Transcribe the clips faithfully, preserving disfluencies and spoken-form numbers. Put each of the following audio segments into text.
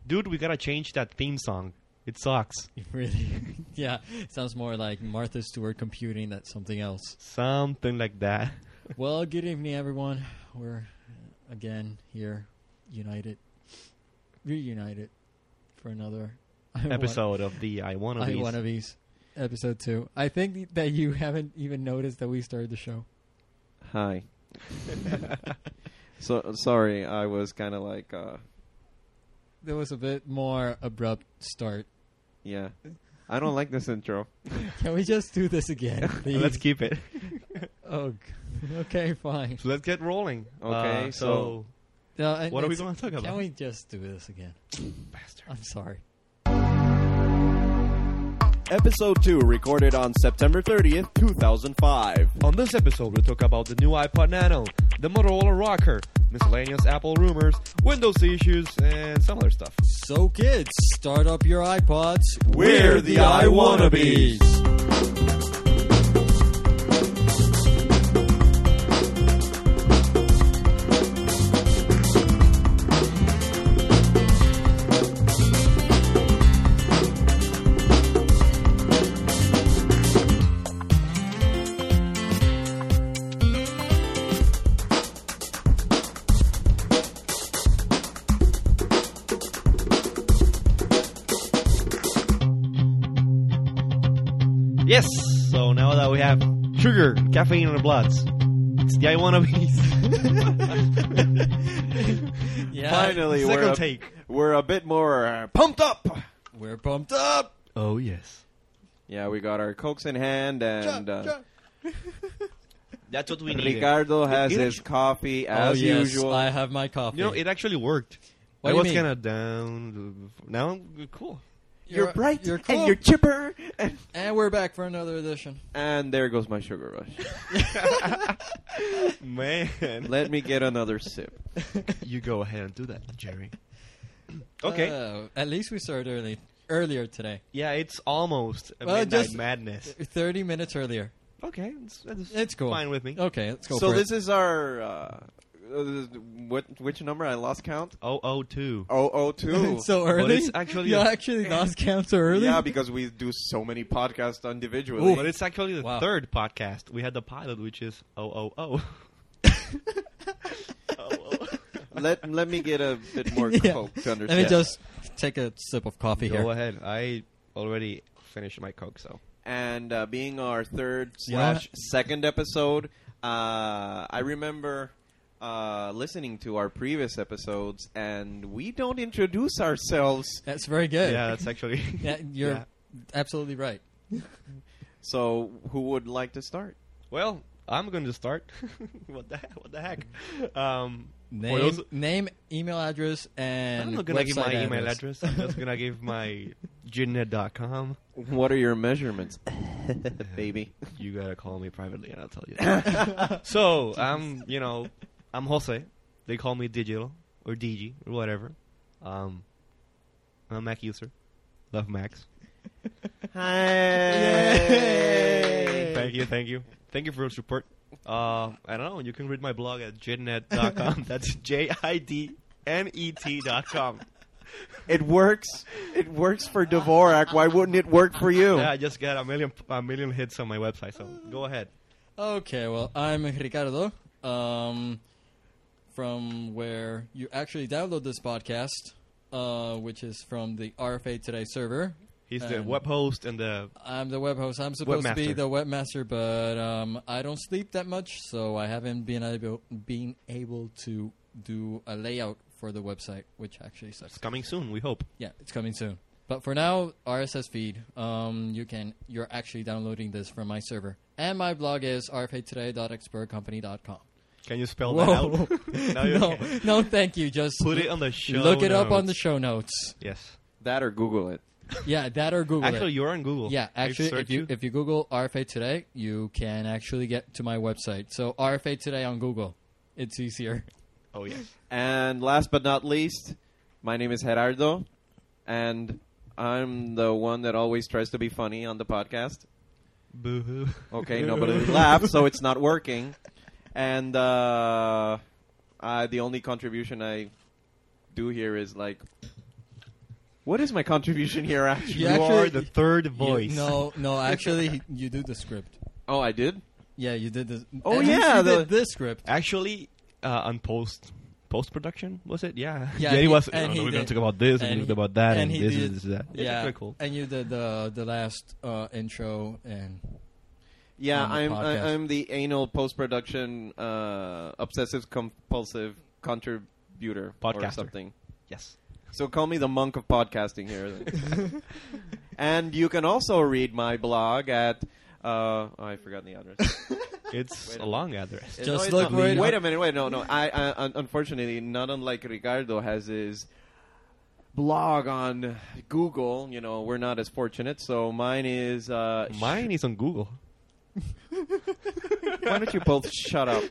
Dude, we gotta change that theme song. It sucks. Really? Yeah. Sounds more like Martha Stewart computing than something else. Something like that. Well, good evening, everyone. We're uh, again here, united, reunited for another Episode of the I Wanna I Be's. Wanna Be's, episode two. I think that you haven't even noticed that we started the show. Hi. so sorry, I was kind of like, uh, There was a bit more abrupt start. yeah. I don't like this intro. Can we just do this again, please? Let's keep it. Oh, g- okay, fine. So let's get rolling. Okay, Uh, so- No, and what are we it's- going to talk about? Can we just do this again? Bastard. I'm sorry. Episode two, recorded on September thirtieth, two thousand five. On this episode, we talk about the new iPod Nano, the Motorola Rocker, miscellaneous Apple rumors, Windows issues, and some other stuff. So, kids, start up your iPods. We're the I Wannabes. Yes! So now that we have sugar, caffeine in our bloods, it's the I Wanna Be's. Yeah, Finally, Second we're a, take. we're a bit more uh, pumped up. we're pumped up. Oh, yes. Yeah, we got our Cokes in hand, and uh, That's what we need. Ricardo has It- it his actu- coffee Oh, as yes, usual. I have my coffee. You know, it actually worked. What I do you was mean? kind of down. Now I'm cool. You're, bright You're cool. and you're chipper. And, And we're back for another edition. and there goes my sugar rush. Man. Let me get another sip. You go ahead and do that, Jerry. Okay. Uh, at least we started early, earlier today. Yeah, it's almost a Well, midnight just- madness. Thirty minutes earlier. Okay, it's, it's, It's cool. fine with me. Okay, let's go So for this it. is our uh, uh, what? Which number? I lost count. Oh, oh, two. Oh, oh, two. so early. it's actually you a- actually lost count so early. Yeah, because we do so many podcasts individually. But it's actually the Wow. third podcast. We had the pilot, which is oh, oh, oh. oh, oh. let let me get a bit more Yeah. coke to Let understand. me just take a sip of coffee Go here. ahead. I already finished my Coke, so. And uh, being our third You know slash second episode, uh, I remember uh, listening to our previous episodes, and we don't introduce ourselves. That's very good. Yeah, that's actually. Yeah, you're Yeah. absolutely right. So, who would like to start? Well, I'm going to start. what the heck? What the heck? Um, for Name, those- name, email address, and I'm not going to give my website email address. I'm just going to give my jidnet dot com. What are your measurements, baby? You got to call me privately and I'll tell you. So, I'm, you know, I'm Jose. They call me Digital or D G or whatever. Um, I'm a Mac user. Love Macs. Hey! Thank you, thank you. Thank you for your support. Uh, I don't know. You can read my blog at jidnet dot com. That's J I D N E T dot com. It works. It works for Dvorak. Why wouldn't it work for you? Yeah, I just got a million a million hits on my website, so go ahead. Okay, well, I'm Ricardo, um, from where you actually download this podcast, uh, which is from the R F A Today server. He's the And- web host and the I'm the web host. I'm supposed to be Webmaster. the webmaster, but um, I don't sleep that much, so I haven't been able been able to do a layout for the website, which actually sucks. it's coming soon. We hope. Yeah, it's coming soon. But for now, R S S feed. Um, you can you're actually downloading this from my server, and my blog is r f a today dot expert company dot com. Can you spell Whoa. that out? No, you no, can't. no, thank you. Just Put it on the show. look it up on the notes. show notes. Yes. That or Google it. Yeah, that or Google Actually, it. you're on Google. Yeah, I actually, if searched you if you Google R F A Today, you can actually get to my website. So R F A Today on Google, it's easier. Oh yes. And last but not least, my name is Gerardo, and I'm the one that always tries to be funny on the podcast. Boo hoo. Okay, nobody laughed, so it's not working. And uh, uh, the only contribution I do here is like What is my contribution here, actually? You You actually- are the third You- voice. no, no. Actually, he- you do the script. Oh, I did? Yeah, you did the. Oh, at least yeah, you the- did this script. Actually, uh, on post post production was it? Yeah. Yeah, he he- was. and no, he no, we're gonna did. talk about this And and, he- about that and and, he this, did- this, this, that. It's Yeah, very cool. and you did the the last uh, intro and Yeah, On the I'm podcast. I, I'm the anal post production uh, obsessive compulsive contributor or Podcaster. something. Yes. So call me the monk of podcasting here. Then. And you can also read my blog at. Uh, oh, I forgot the address. It's Wait a a long address. Just No, it's look not. right Wait up- a minute. Wait, no, no. I, I un- unfortunately, not unlike Ricardo, has his blog on Google. You know, we're not as fortunate. So mine is. Uh, sh- Mine is on Google. Why don't you both shut up?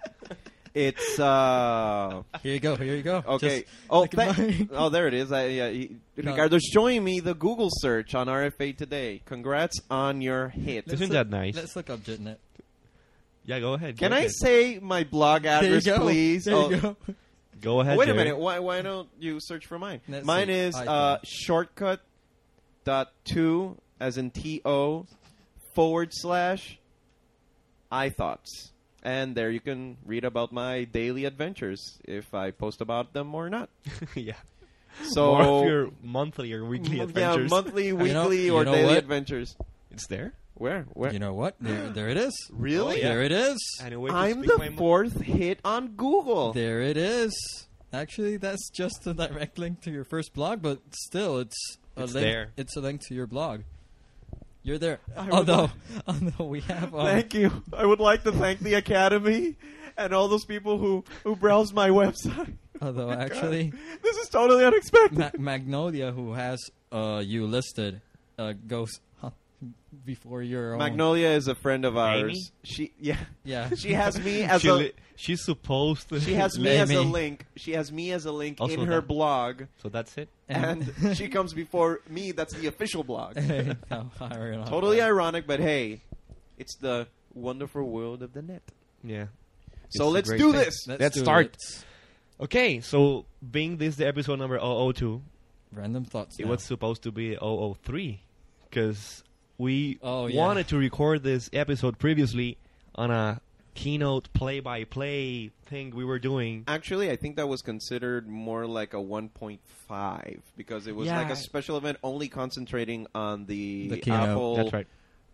It's uh here you go, here you go. okay. Just oh, look at thank- mine. oh, there it is. I, yeah, he, No. Ricardo's showing me the Google search on R F A today. Congrats on your hit. Let's Isn't look- that nice? Let's look up JitNet. Yeah, go ahead. Can go I ahead. say my blog There you address, go. please? There Oh, you go. Go ahead. wait a Jerry. minute. Why why don't you search for mine? Let's mine see. is iPhone. uh, shortcut dot two as in T O forward slash iThoughts. And there you can read about my daily adventures if I post about them or not. yeah. So More of your monthly or weekly yeah, adventures. monthly, weekly, know- you or know daily what? adventures. It's there. Where? Where? You know what? There, there it is. Really? Oh, yeah. There it is. And a way to I'm speak my the mind. fourth hit on Google. There it is. Actually, that's just a direct link to your first blog, but still, it's a It's link. there. It's a link to your blog. You're there. I would Although, like- although we have. Um, Thank you. I would like to thank the Academy and all those people who, who browsed my website. Although, Oh my actually, God. This is totally unexpected. Ma- Magnolia, who has uh, you listed, uh, goes huh, before your own. Magnolia is a friend of ours. Amy? She yeah. Yeah. She has me as She a li- she's supposed to. she has me as a Amy. link. She has me as a link Also in her that. blog, So that's it. and she comes before me. That's the official blog. How ironic. Totally ironic, but hey, it's the wonderful world of the net. Yeah. So It's a let's great do thing. this. Let's do start. it. Okay, so being this the episode number zero zero two, Random thoughts. it now. was supposed to be zero zero three because we Oh, yeah. wanted to record this episode previously on a keynote play-by-play thing we were doing. Actually, I think that was considered more like a one point five because it was Yeah. like a special event only concentrating on the, The keynote. Apple That's right.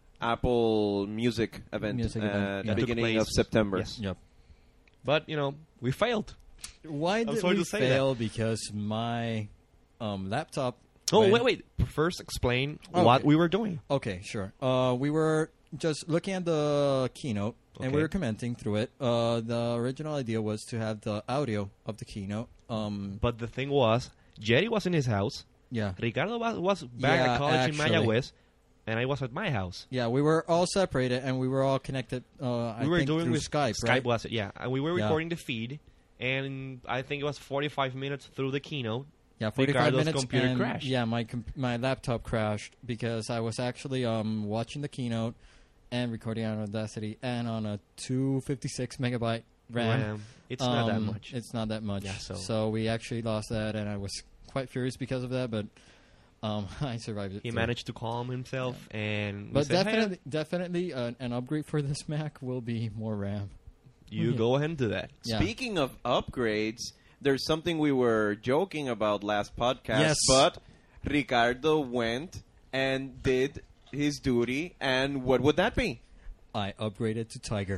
Apple Music event Music at event, the yeah. Took beginning place- of September. yes. Yep. But, you know, we failed. Why I'm did sorry we to say fail? Because my um, laptop. Oh, went- wait, wait. First, explain Oh, what okay. we were doing. Okay, sure. Uh, we were just looking at the keynote, and we Okay. were commenting through it. Uh, the original idea was to have the audio of the keynote. Um, But the thing was, Jerry was in his house. yeah, Ricardo was, was back Yeah, at college actually. in Mayagüez. And I was at my house. yeah. We were all separated, and we were all connected. Uh, I we were think doing through with Skype. Skype right? was it? Yeah, and we were Yeah. recording the feed, and I think it was forty-five minutes through the keynote. Yeah, forty-five Ricardo's minutes. computer and, crashed. Yeah, my com- my laptop crashed because I was actually um watching the keynote and recording on Audacity and on a two fifty-six megabyte RAM. RAM. It's not that Um, much. It's not that much. Yeah, so- we actually lost that, and I was quite furious because of that. But um, I survived it. He too. managed to calm himself, and we But said, "Hey, definitely, definitely, uh, an upgrade for this Mac will be more RAM. you Yeah. go ahead and do that." Yeah. Speaking of upgrades, there's something we were joking about last podcast, Yes. but Ricardo went and did his duty, and what would that be? I upgraded to Tiger.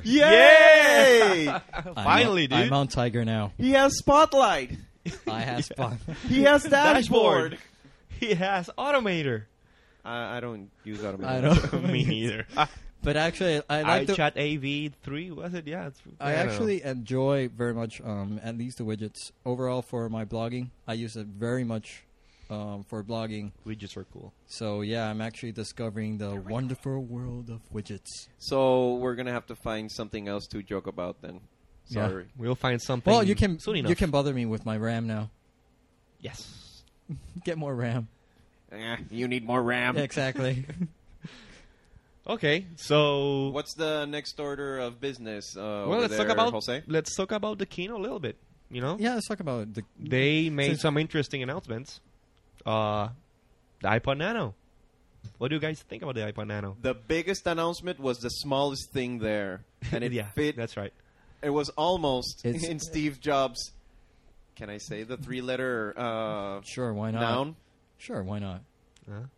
Yay! I'm Finally, on, dude. I'm on Tiger now. He has Spotlight. I have Spot. He has dashboard. He has Automator. I, I don't use Automator. I don't. Me neither. But actually, I like to. iChat A V three was it? Yeah, it's, I don't know. actually enjoy very much, um, at least the widgets. Overall, for my blogging, I use it very much um, for blogging. widgets were cool. So yeah, I'm actually discovering the wonderful world of widgets. So we're gonna have to find something else to joke about then. Yeah. Sorry. We'll find something. Well, you can soon enough. you can bother me with my RAM now. Yes. Get more RAM. Eh, you need more RAM. Exactly. Okay, so What's the next order of business? Uh, well, over let's there, talk about Jose. let's talk about the keynote a little bit. You know, Yeah, let's talk about the. they made Since- some interesting announcements. uh, the iPod Nano. What do you guys think about the iPod Nano? The biggest announcement was the smallest thing there, and it yeah, fit. that's right. It was almost It's- in Steve Jobs. Can I say the three-letter uh, Sure, why not? noun? Sure, why not? Huh?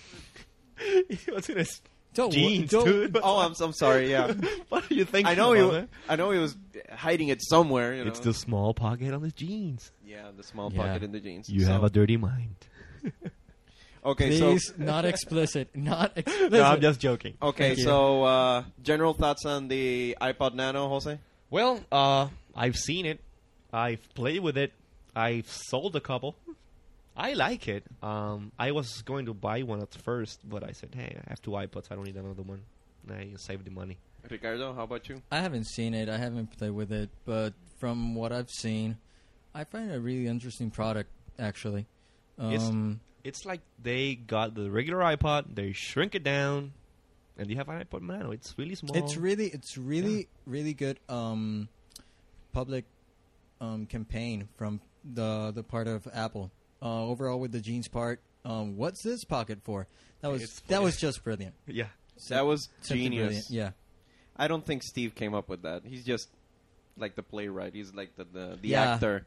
What's in his Don't, wo- jeans, don't- dude? Oh, I'm, I'm sorry. Yeah, What are you thinking I know he. about, wa- man? I know he was hiding it somewhere. You know, It's the small pocket on his jeans. yeah, the small Yeah. pocket in the jeans. You So- have a dirty mind. okay. Please, So not explicit. Not explicit. No, I'm just joking. okay. Thank you. So uh, general thoughts on the iPod Nano, Jose? Well, uh, I've seen it. I've played with it. I've sold a couple. I like it. Um, I was going to buy one at first, but I said, hey, I have two iPods. I don't need another one. I save the money. Ricardo, how about you? I haven't seen it. I haven't played with it, but from what I've seen, I find it a really interesting product. Actually, It's- um, It's like they got the regular iPod, they shrink it down, and you have an iPod Nano. It's really small. it's really, it's really, really good um, public um, campaign from the the part of Apple. Uh, overall, with the jeans part, um, what's this pocket for? That was It's that for- was just brilliant. yeah. That was Simply genius. brilliant. Yeah. I don't think Steve came up with that. He's just like the playwright. He's like the the, the Yeah. actor.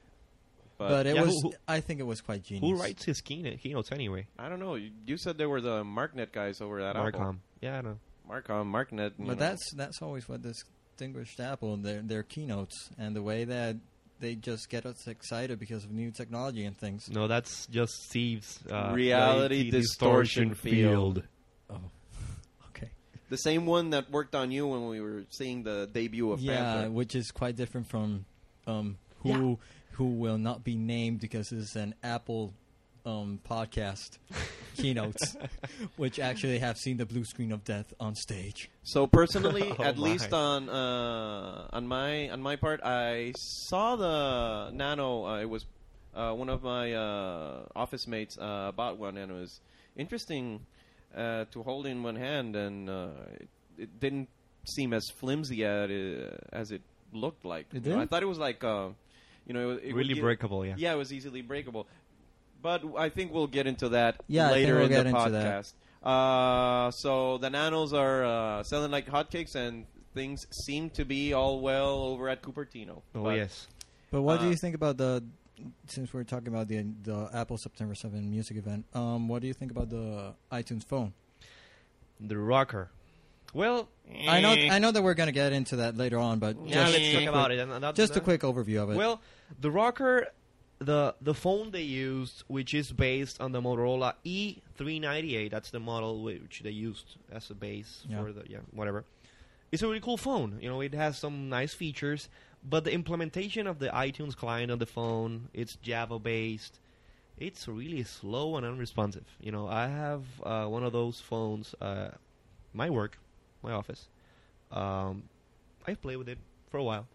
But, But it Yeah, was. who- who- I think it was quite genius. Who writes his keynote, keynotes anyway? I don't know. You, you said they were the MarkNet guys over at Apple. Marcom. Yeah, I know. Marcom, MarkNet. you know. But that's that's always what distinguished Apple, their their keynotes and the way that they just get us excited because of new technology and things. No, that's just Steve's uh, Reality distortion field. Oh, okay. the same one that worked on you when we were seeing the debut of Yeah, Panther. which is quite different from um, who who will not be named because it's an Apple um, podcast keynotes, which actually have seen the blue screen of death on stage. So personally, Oh at my. least on uh, on my on my part, I saw the Nano. Uh, it was uh, one of my uh, office mates uh, bought one, and it was interesting uh, to hold in one hand, and uh, it, it didn't seem as flimsy as it, as it looked like. It You know, I didn't? thought it was like uh, you know, it, it Really would get- breakable, yeah. Yeah, it was easily breakable. But I think we'll get into that Yeah, I think later we'll in get the into that. podcast. Uh, so the Nanos are uh, selling like hotcakes, and things seem to be all well over at Cupertino. Oh, But yes. But what do Uh, you think about the? Since we're talking about the the Apple September seventh music event, um, what do you think about the iTunes phone? The rocker. Well, I know Eh. I know that we're gonna get into that later on, but yeah, just, let's talk about it. And that- just a that- quick overview of it. Well, the rocker, the the phone they used, which is based on the Motorola E three ninety-eight, that's the model which they used as a base Yeah. for the yeah whatever. It's a really cool phone. You know, it has some nice features, but the implementation of the iTunes client on the phone, it's Java based. It's really slow and unresponsive. You know, I have uh, one of those phones, uh, my work, my office. Um, I played with it for a while.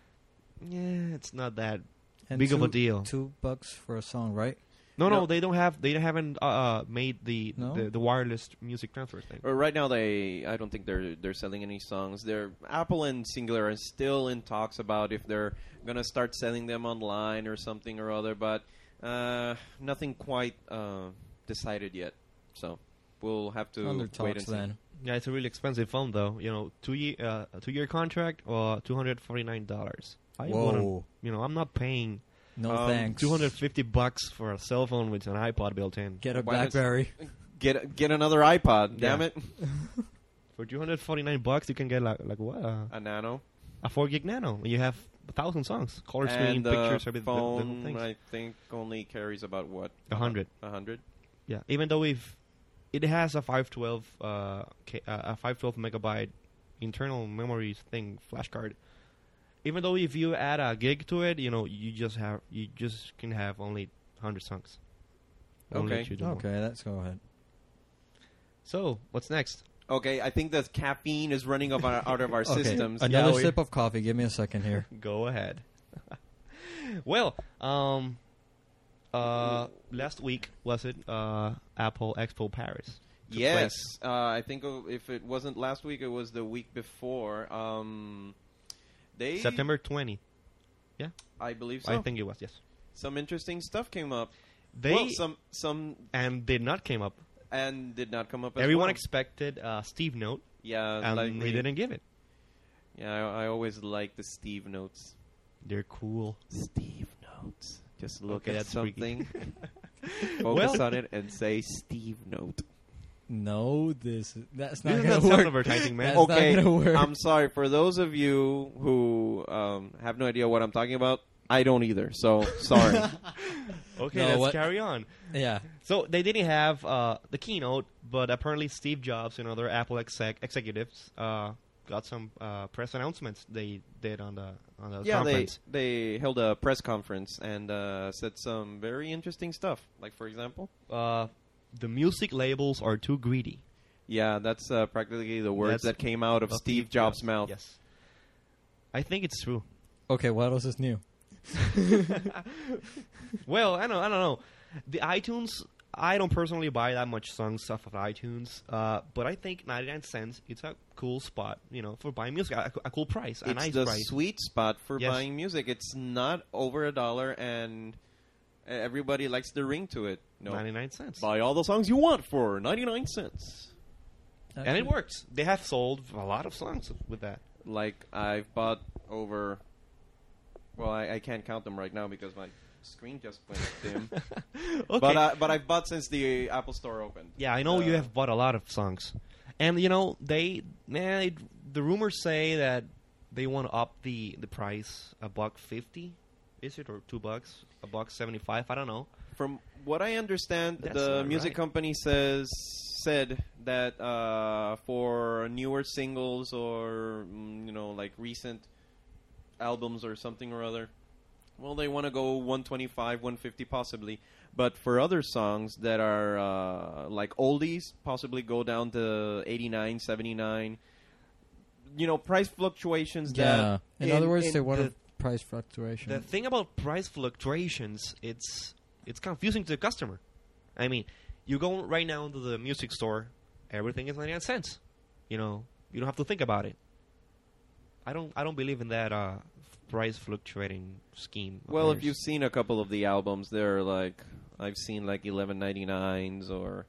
Yeah, it's not that And big of a two- deal. Two bucks for a song, right? No, no, No. they don't have. They haven't uh, uh, made the, No? the the wireless music transfer thing. Uh, right now, they I don't think they're they're selling any songs. They're Apple and Singular are still in talks about if they're gonna start selling them online or something or other, but uh, nothing quite uh, decided yet. So we'll have to Under wait talks and see. then. Yeah, it's a really expensive phone though. You know, two year uh, a two year contract or two hundred forty nine dollars. I wanna- Whoa! You know, I'm not paying No Um, thanks. two hundred fifty bucks for a cell phone with an iPod built in. Get a Why does- BlackBerry. Get get another iPod. Damn Yeah. it, For two hundred forty nine bucks, you can get like like what uh, a Nano. a four gig Nano. You have a thousand songs, color screen, and the pictures, everything. the- the whole phone, things. I think, only carries about what A hundred. A hundred. Yeah, even though if it has a five twelve uh, K, uh, a five twelve megabyte internal memory thing flash card. Even though if you add a gig to it, you know you just have you just can have only hundred songs. Won't let Okay. you do more. Okay, let's go ahead. So what's next? Okay, I think the caffeine is running of our, out of our Okay, systems. Another Yeah, we- sip of coffee. Give me a second here. Go ahead. Well, um, uh, last week was it uh, Apple Expo Paris? took Yes, place. uh, I think uh, if it wasn't last week, it was the week before. Um, they September twentieth. I believe so. I think it was yes. Some interesting stuff came up. They well, some some and did not came up. and did not come up. As Everyone well. expected uh, Steve Note, yeah, and like they didn't give it. Yeah, I, I always like the Steve notes. They're cool. Steve notes. Just look Okay, at that's freaky. something, focus Well- on it, and say Steve note. No, this that's not This is gonna not work. self-advertising, man. That's not Okay, gonna work. I'm sorry for those of you who um, have no idea what I'm talking about. I don't either, so sorry. Okay, No, let's what- carry on. Yeah. So they didn't have uh, the keynote, but apparently Steve Jobs and other Apple exec- executives uh, got some uh, press announcements they did on the on the yeah, they conference. they held a press conference and uh, said some very interesting stuff. Like for example, Uh, the music labels are too greedy. yeah, that's uh, practically the words That's that came out of Of Steve Jobs' mouth. Yes, I think it's true. Okay, what else is new? Well, I don't, I don't know. The iTunes, I don't personally buy that much song stuff of iTunes, uh, but I think ninety-nine cents, it's a cool spot, you know, for buying music, a, a cool price, a It's nice the price. sweet spot for Yes. buying music. It's not over a dollar, and everybody likes the ring to it. No, ninety-nine cents. buy all the songs you want for ninety-nine cents. And it works. They have sold a lot of songs with that. Like I've bought over. Well, I, I can't count them right now because my screen just went dim. Okay. But uh, but I've bought since the Apple Store opened. Yeah, I know you Uh, have bought a lot of songs, and you know they, nah, they the rumors say that they want to up the the price a buck fifty, is it, or two bucks, a buck seventy five? I don't know. From what I understand, That's the not music right. company says said that uh, for newer singles or mm, you know like recent albums or something or other, well, they want to go one twenty-five, one fifty possibly. But for other songs that are uh, like oldies, possibly go down to eighty-nine, seventy-nine. You know, price fluctuations. Yeah. That In, other words, in they want the- a price fluctuation. The thing about price fluctuations, it's it's confusing to the customer. I mean, you go right now into the music store, everything is ninety-nine cents. You know, you don't have to think about it. I don't I don't believe in that uh, price fluctuating scheme. of Well, if theirs. you've seen a couple of the albums, they're like I've seen like eleven ninety nines or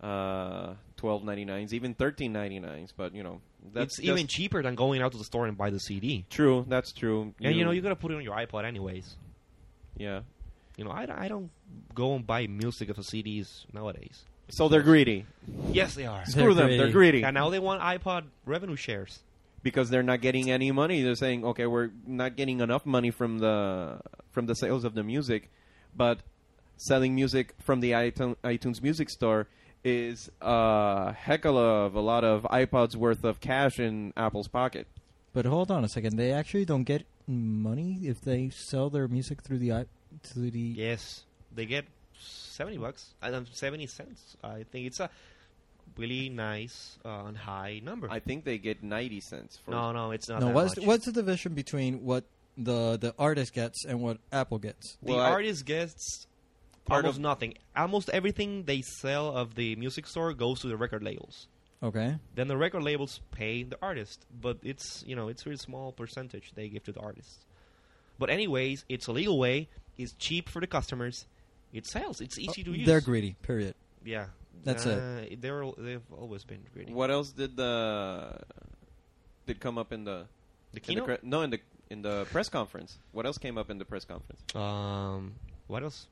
uh, twelve ninety nines, even thirteen ninety nines. But you know, that's it's even just- cheaper than going out to the store and buy the C D. true. That's true. And you know, you gotta put it on your iPod anyways. yeah. You know, I, I don't go and buy music of the C Ds nowadays. So they're greedy. Yes, they are. Screw them. greedy. They're greedy And now they want iPod revenue shares. because they're not getting any money. They're saying, okay, we're not getting enough money from the from the sales of the music, but selling music from the iTunes, iTunes Music Store is a heck of a lot of iPods worth of cash in Apple's pocket. But hold on a second. They actually don't get money if they sell their music through the i through the. Yes, they get seventy bucks. I don't seventy cents. I think it's a really nice uh, and high number. I think they get ninety cents for no, no, it's not No, that what's much. what's the division between what the the artist gets and what Apple gets? the Well, I- artist gets Part almost of- nothing. Almost everything they sell of the music store goes to the record labels. Okay. Then the record labels pay the artist, but it's you know it's a really small percentage they give to the artists. But anyways, it's a legal way. It's cheap for the customers. It sells. It's easy to use. They're greedy. Period. Yeah, That's uh, it. They're al- they've always been greedy. What else did the did come up in the The in the keynote? cre- no in the in the press conference? What else came up in the press conference? Um, what else?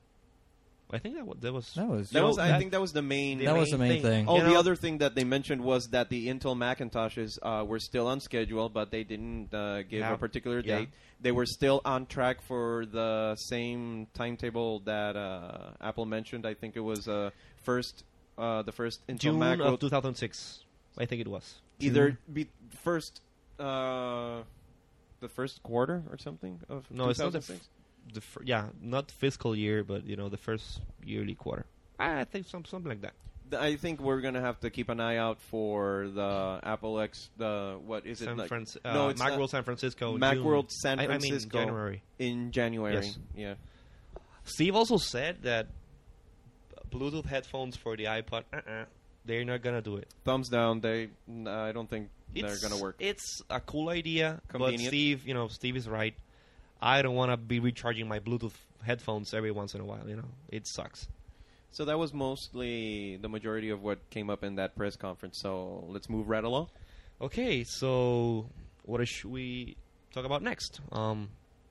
I think that wa- that was. That was. That No, was I that- think that was the main. the That was the main thing. Oh, You the know- other thing that they mentioned was that the Intel Macintoshes uh, were still on schedule, but they didn't uh, give Yeah. a particular Yeah. date. They were still on track for the same timetable that uh, Apple mentioned. I think it was uh, first uh, the first Intel June Mac of will two thousand six. I think it was. either be first uh, the first quarter or something of No, it's not the two thousand six. The fir- yeah, not fiscal year, but you know the first yearly quarter. I think some something like that. Th- I think we're gonna have to keep an eye out for the Apple X. The what is San it? Like, Franci- uh, no, it's not- Macworld San Francisco. June. Macworld San I- I mean Francisco January. in January. Yes. Yeah. Steve also said that Bluetooth headphones for the iPod, uh-uh, they're not gonna do it. Thumbs down. They. n- I don't think It's, they're gonna work. It's a cool idea, but Convenient. Steve, you know, Steve is right. I don't want to be recharging my Bluetooth headphones every once in a while. You know, it sucks. So that was mostly the majority of what came up in that press conference. So let's move right along. Okay, so what should we talk about next? Um,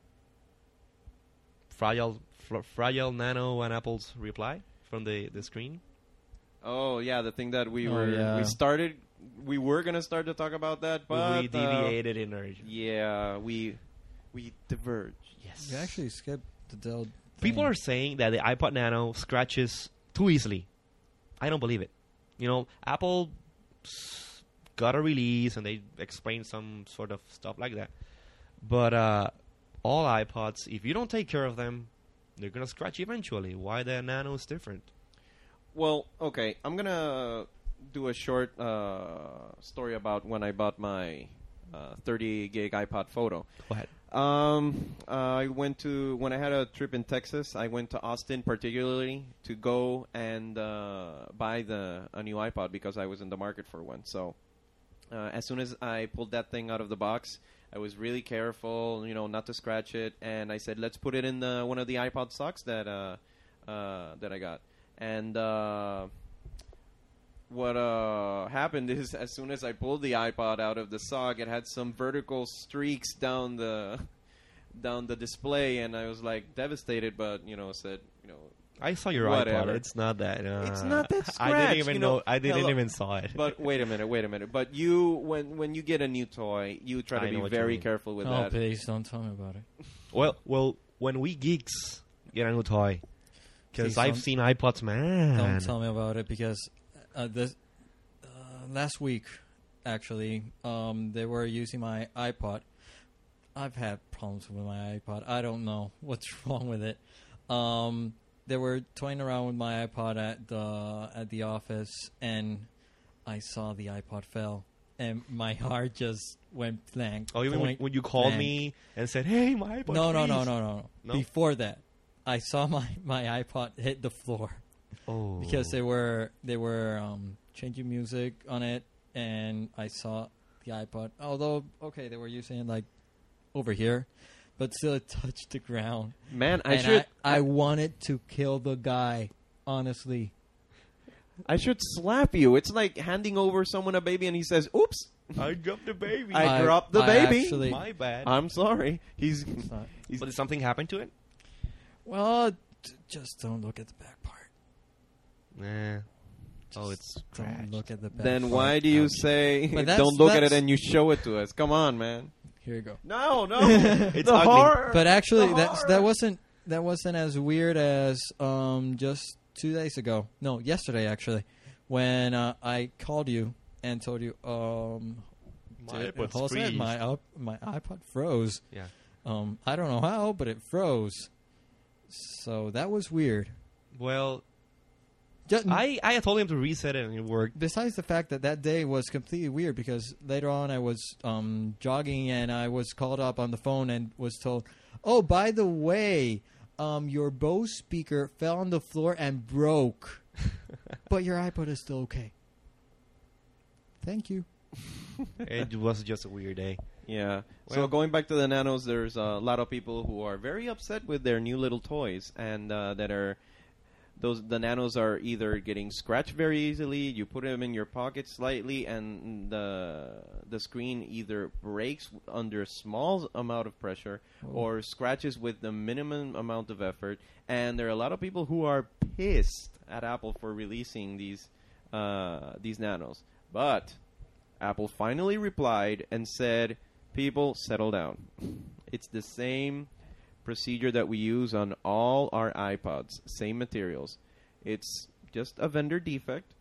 fragile, fr- fragile Nano and Apple's reply from the, the screen. Oh yeah, the thing that we Oh, were yeah. we started, we were gonna start to talk about that, but we uh, deviated in our. yeah, we we diverged. Yes. You actually skipped the Dell. People thing. are saying that the iPod Nano scratches too easily. I don't believe it. You know, Apple s- got a release and they explained some sort of stuff like that. But uh, all iPods, if you don't take care of them, they're gonna scratch eventually. Why the Nano is different? Well, okay, I'm gonna do a short uh, story about when I bought my uh, thirty gig iPod Photo. Go ahead. Um, uh, I went to when I had a trip in Texas. I went to Austin particularly to go and uh, buy the a new iPod because I was in the market for one. So uh, as soon as I pulled that thing out of the box, I was really careful, you know, not to scratch it. And I said, let's put it in the, one of the iPod socks that uh, uh, that I got. And uh, what uh, happened is, as soon as I pulled the iPod out of the sock, it had some vertical streaks down the down the display, and I was like devastated. But you know, said you know, I saw your Whatever. iPod. It's not that. Uh, It's not that I scratch, didn't even you know. know. I didn't Hello. even saw it. but wait a minute, wait a minute. But you, when when you get a new toy, you try I to know be what you very mean. careful with Oh, that. please don't tell me about it. well, well, when we geeks get a new toy, because Please I've don't- seen iPods, man. Don't tell me about it because uh, this uh, last week, actually, um, they were using my iPod. I've had problems with my iPod. I don't know what's wrong with it. Um, they were toying around with my iPod at the at the office, and I saw the iPod fell, and my heart just went blank. Oh, even when, Point when you called blank. me and said, "Hey, my iPod." No, no, no, freeze." no, no, no. No? Before that, I saw my, my iPod hit the floor. Oh, Because they were they were um, changing music on it, and I saw the iPod. Although, okay, they were using it like over here, but still it touched the ground. Man, I and should I, I wanted to kill the guy. Honestly, I should slap you. It's like handing over someone a baby and he says, "Oops, I dropped the baby. I dropped the I baby." actually- my bad. I'm sorry." He's, it's not- he's but did something happen to it? well, t- just don't look at the back part. Nah. Oh, Just it's don't scratched. look at the back. then part. why do you Ouch. say But that's- don't look at it that's- and you show it to us? Come on, man. Here you go. No, no. It's the ugly. horror. But actually, The that's, horror. that wasn't that wasn't as weird as um, just two days ago. No, yesterday actually, when uh, I called you and told you, um, My dude, iPod's Jose, freeze. my up, my iPod froze. Yeah. Um, I don't know how, but it froze. So that was weird. Well, Just, I I told him to reset it and it worked. besides the fact that that day was completely weird because later on I was um, jogging and I was called up on the phone and was told, "Oh, by the way, um, your Bose speaker fell on the floor and broke, but your iPod is still okay." Thank you. It was just a weird day. Yeah. so Well- going back to the nanos, there's a lot of people who are very upset with their new little toys, and uh, that are those the nanos are either getting scratched very easily. You put them in your pocket slightly, and the the screen either breaks under a small amount of pressure Oh. or scratches with the minimum amount of effort. And there are a lot of people who are pissed at Apple for releasing these uh, these nanos, but Apple finally replied and said, "People, settle down. It's the same procedure that we use on all our iPods. Same materials. It's just a vendor defect."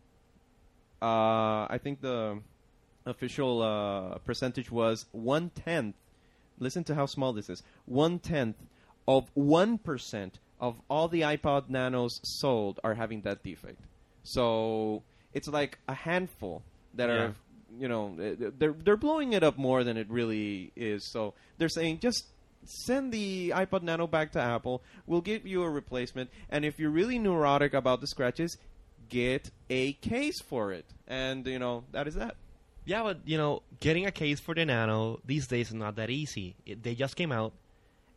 Uh, I think the official uh, percentage was one-tenth. Listen to how small this is. One-tenth of one percent of all the iPod Nanos sold are having that defect. So it's like a handful that Yeah. are... You know, they're they're blowing it up more than it really is. So they're saying just send the iPod Nano back to Apple. We'll give you a replacement. And if you're really neurotic about the scratches, get a case for it. And you know that is that. Yeah, but you know, getting a case for the Nano these days is not that easy. It, they just came out,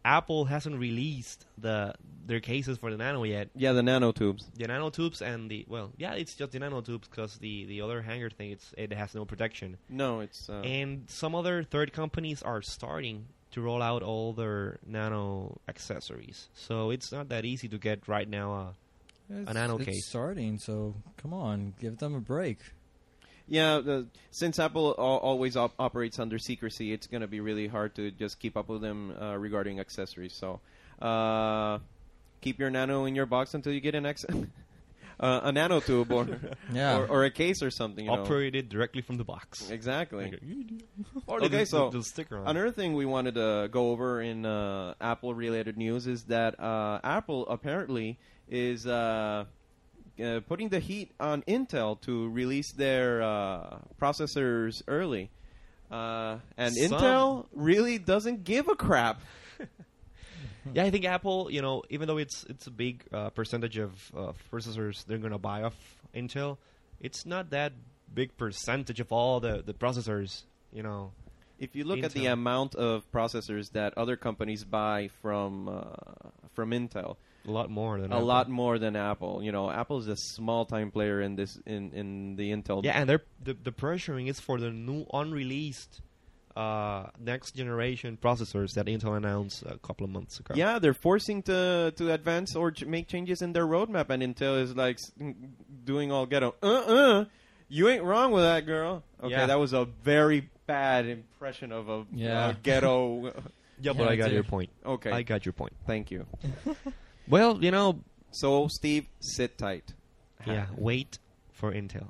Apple hasn't released the their cases for the Nano yet. Yeah, the nanotubes. The nanotubes and the well, yeah, it's just the nanotubes because the the other hanger thing, it's it has no protection. No, it's uh, And some other third companies are starting to roll out all their nano accessories, so it's not that easy to get right now. Uh, It's, A nano it's case. starting, so come on, give them a break. yeah. The, since Apple al- always op- operates under secrecy, it's going to be really hard to just keep up with them uh, regarding accessories. So, uh, keep your nano in your box until you get an ex- uh, a nanotube or, Yeah. or or a case or something. You know. operated directly from the box. Exactly. Like a- or Okay, the, so the, the sticker on. Another thing we wanted to go over in uh, Apple-related news is that uh, Apple apparently is uh, uh, putting the heat on Intel to release their uh, processors early. Uh, and Some- Intel really doesn't give a crap. Yeah, I think Apple, you know, even though it's it's a big uh, percentage of uh, processors they're gonna buy off Intel, it's not that big percentage of all the, the processors. You know, If you look at the Intel. amount of processors that other companies buy from uh, from Intel, a lot more than a Apple. lot more than Apple. You know, Apple is a small time player in this in, in the Intel. Yeah, and they're the, the pressuring is for the new unreleased uh, next generation processors that Intel announced a couple of months ago. Yeah, they're forcing to to advance or ch- make changes in their roadmap, and Intel is like s- doing all ghetto. Uh uh, you ain't wrong with that, girl. Okay, Yeah. that was a very bad impression of a Yeah. uh, ghetto. yeah, but Yeah, I got dude. your point. Okay, I got your point. thank you. Well, you know, So, Steve, sit tight. yeah, wait for Intel.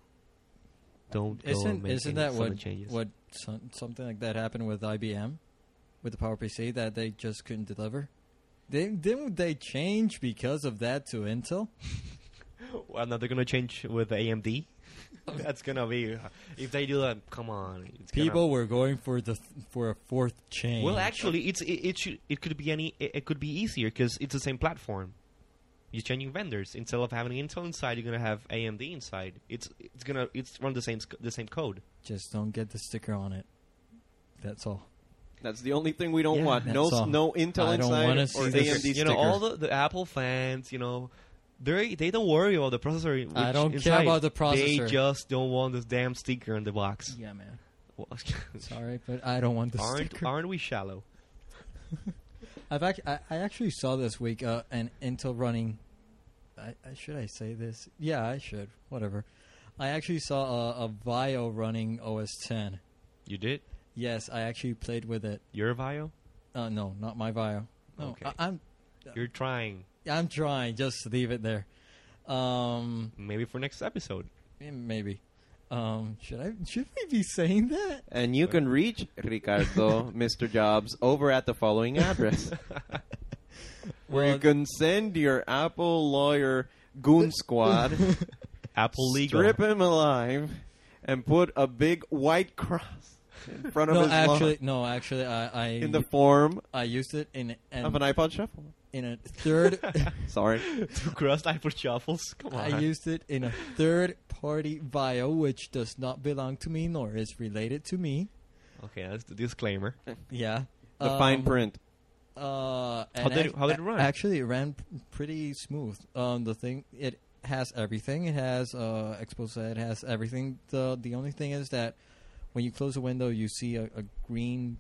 Don't go and Isn't make isn't any that sudden what changes. what some, something like that happened with I B M, with the PowerPC that they just couldn't deliver? They, didn't they change because of that to Intel? Well, now they're gonna change with A M D. That's gonna be if they do that. Come on, it's gonna- People were going for the th- for a fourth change. Well, actually, it's it, it should it could be any it, it could be easier because it's the same platform. You're changing vendors instead of having Intel inside. You're gonna have A M D inside. It's it's gonna it's run the same sc- the same code. just don't get the sticker on it. That's all. That's the only thing we don't Yeah, want. No, that's s- all. no Intel I don't inside wanna or see A this. M D You sticker. know, all the, the Apple fans, you know, they they don't worry about the processor. Which I don't care inside. about the processor. They just don't want this damn sticker on the box. Yeah, man. Well, Sorry, but I don't want the aren't sticker. aren't we shallow? I've ac- I, I actually saw this week uh, an Intel running. I, I should I say this? Yeah, I should. Whatever. I actually saw a, a Vio running O S ten. You did? Yes, I actually played with it. Your Vio? Uh, no, not my Vio. No, Okay. I, I'm You're trying. I'm trying. Just leave it there. Um, Maybe for next episode. eh, maybe. Um, should I? Should we be saying that? And you can reach Ricardo, Mister Jobs, over at the following address, where you Well, can send your Apple lawyer goon squad, Apple legal. strip him alive, and put a big white cross in front of no, his actually, lawn no, actually, I I, in the form I used it in an, of an iPod Shuffle. in a third. Sorry. Two crust iPod shuffles. Come on. I used it in a third-party Vio, which does not belong to me nor is related to me. Okay, that's the disclaimer. Yeah, The Um, fine print. Uh, How and did it- ac- how did it a- run? Actually, it ran p- pretty smooth. Um, the thing it has everything. It has uh, expose. It has everything. the The only thing is that when you close a window, you see a, a green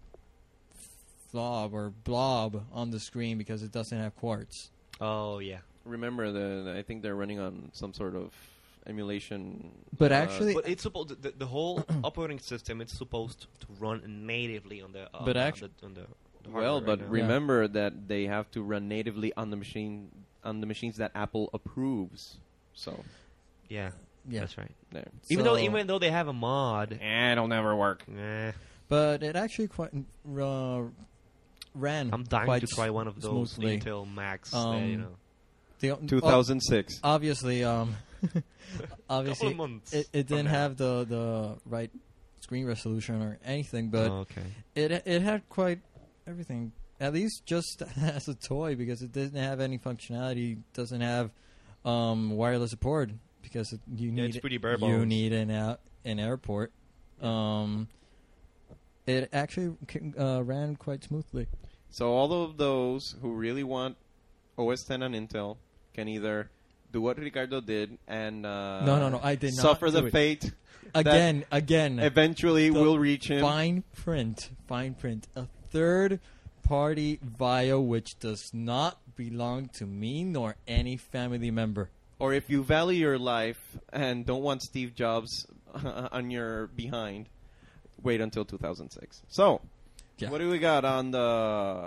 blob or blob on the screen because it doesn't have quartz. Oh yeah. Remember, the I think they're running on some sort of emulation. But uh, actually- But it's supposed the, the whole operating system. It's supposed to run natively on the. Uh, But on actu- the, on the, the well, hardware but right now. remember that they have to run natively on the machine on the machines that Apple approves. So yeah, Yeah, that's right. there. Even though So- even though they have a mod, Eh, it'll never work. eh, but it actually quite uh, ran. I'm dying quite to try one of those smoothly. Intel Macs. that, Um, you know, The, two thousand six. oh, obviously, um, couple obviously, of months. it, it from didn't now. have the, the right screen resolution or anything, but Oh, okay. it it had quite everything. At least just as a toy, because it didn't have any functionality. Doesn't have um, wireless support because it, you Yeah, need it's pretty bare you bones. need an out, an airport. Um, it actually c- uh, ran quite smoothly. So all of those who really want O S ten on Intel can either do what Ricardo did and uh, No, no, no, I did not suffer do the it. fate Again, again. eventually the will reach him. Fine print. Fine print. A third party via which does not belong to me nor any family member. Or if you value your life and don't want Steve Jobs on your behind, wait until two thousand six. So, Yeah. what do we got on the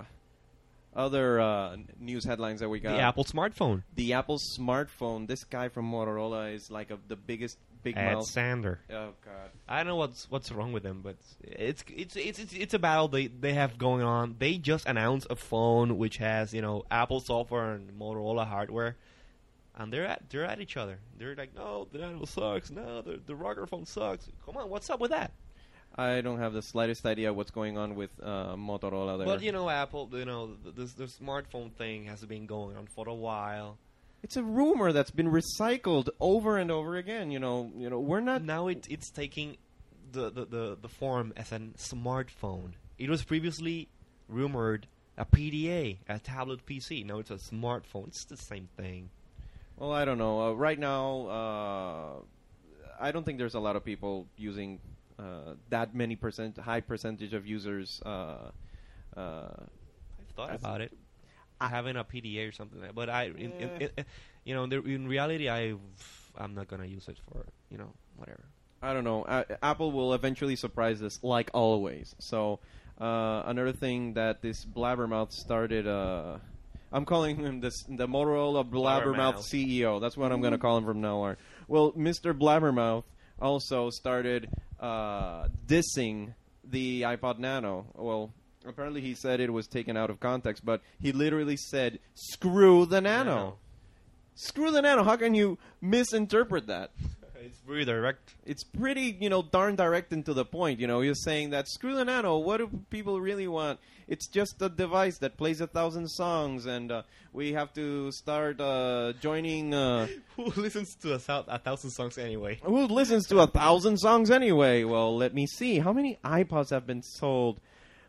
other uh, news headlines that we got? The Apple smartphone. The Apple smartphone. This guy from Motorola is like a, the biggest big Ed mouth. Sander. Oh God. I don't know what's what's wrong with them, but it's it's it's it's, it's a battle they, they have going on. They just announced a phone which has, you know, Apple software and Motorola hardware, and they're at they're at each other. They're like, no, the Nano sucks. No, the the Rocker phone sucks. Come on, what's up with that? I don't have the slightest idea what's going on with uh, Motorola there. But you know, Apple, you know, the, the the smartphone thing has been going on for a while. it's a rumor that's been recycled over and over again. You know, you know, we're not. Now it it's taking the, the, the, the form as a smartphone. It was previously rumored a P D A, a tablet P C. Now it's a smartphone. It's the same thing. Well, I don't know. Uh, right now, uh, I don't think there's a lot of people using uh, that many percent, high percentage of users. Uh, uh, I've thought That's- about it, having a P D A or something like that. But I, in, in, Yeah. in, you know, there, in reality, I, I'm not gonna use it for, you know, whatever. I don't know. Uh, Apple will eventually surprise us, like always. So, uh, another thing that this blabbermouth started. Uh, I'm calling him this the Motorola blabbermouth Blabbermouth. C E O. That's what I'm going to call him from now on. Well, Mister Blabbermouth also started uh, dissing the iPod Nano. Well, apparently he said it was taken out of context, but he literally said, "Screw the Nano." Nano. Screw the Nano. How can you misinterpret that? It's very direct. It's pretty, you know, darn direct and to the point. You know, you're saying that screw the Nano. What do people really want? It's just a device that plays a thousand songs, and uh, we have to start uh, joining. Uh, Who listens to a, thou- a thousand songs anyway? who listens to a thousand songs anyway? Well, let me see. How many iPods have been sold?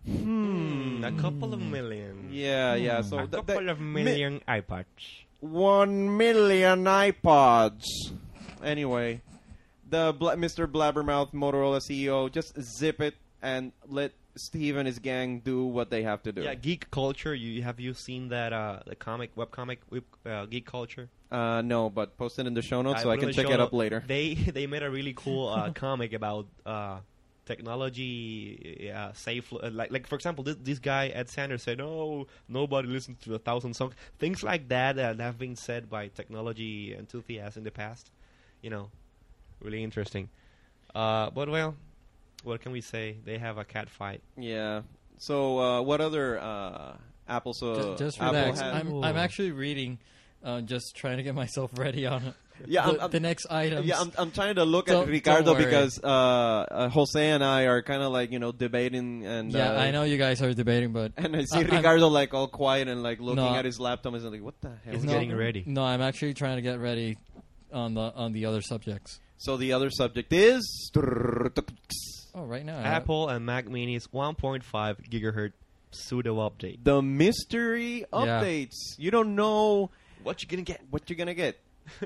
Hmm. A couple of million. Yeah, yeah. So a th- couple th- of million iPods. One million iPods. Anyway, the Bla- Mister Blabbermouth Motorola C E O, just zip it and let Steve and his gang do what they have to do. Yeah, Geek Culture. You have you seen that uh, the comic webcomic web, uh, Geek Culture? Uh, no, but post it in the show notes so put I it can in the check show it up note. later. They they made a really cool uh, comic about uh, technology, uh, safe. Uh, like like for example, this this guy Ed Sanders said, "Oh, nobody listens to a thousand songs." Things like that that have been said by technology enthusiasts in the past. You know, really interesting. Uh, but well, what can we say? They have a cat fight. Yeah. So, uh, what other uh, Apple? So Ju- just Apple relax. has- I'm, I'm actually reading, uh, just trying to get myself ready on Yeah, the, I'm- I'm- the next items. Yeah, I'm, I'm trying to look Don't- at Ricardo don't worry. because uh, uh, Jose and I are kind of like you know debating and Yeah, uh, I know you guys are debating, but And I see I- I'm- Ricardo like all quiet and like looking No. at his laptop and like, what the hell? He's is getting going on? ready. no, I'm actually trying to get ready on the on the other subjects. So the other subject is Oh, right now, Apple and Mac Mini's one point five gigahertz pseudo update. the mystery updates. You don't know What you gonna get? what you're gonna get.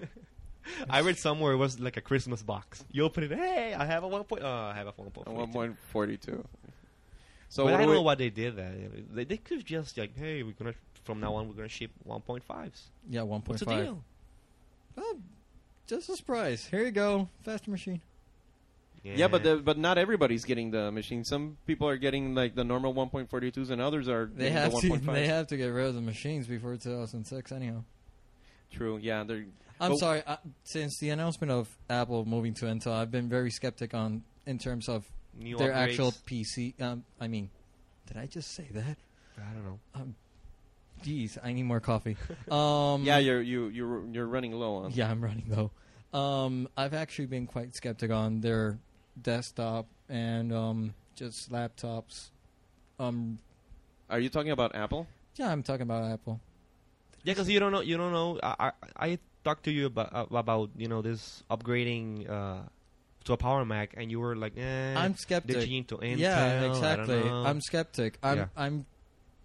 I read somewhere it was like a Christmas box. You open it, hey, I have a one point. Oh, I have a one point. one point four two. So But what I do don't we- know what they did there. They, they could just like, hey, we're gonna from now on we're gonna ship one point fives. yeah, one point What's the five. deal? Oh, just a surprise. Here you go, faster machine. Yeah, but the, but not everybody's getting the machine. Some people are getting like the normal one point four twos, and others are They getting have the to. one point five. They have to get rid of the machines before two thousand six. Anyhow, True. Yeah, they're. I'm But- sorry. Uh, since the announcement of Apple moving to Intel, I've been very skeptic on in terms of New their upgrades. actual P C. Um, I mean, did I just say that? I don't know. Um, geez, I need more coffee. Um, Yeah, you're you you're you're running low on. Yeah, I'm running low. Um, I've actually been quite skeptic on their desktop and um, just laptops. Um, Are you talking about Apple? yeah, I'm talking about Apple. Yeah, because you don't know. You don't know. I I, I talked to you about uh, about you know this upgrading uh, to a Power Mac, and you were like, eh, I'm skeptic. they're changing to Intel. yeah, I don't exactly. know. I'm skeptic. I'm Yeah. I'm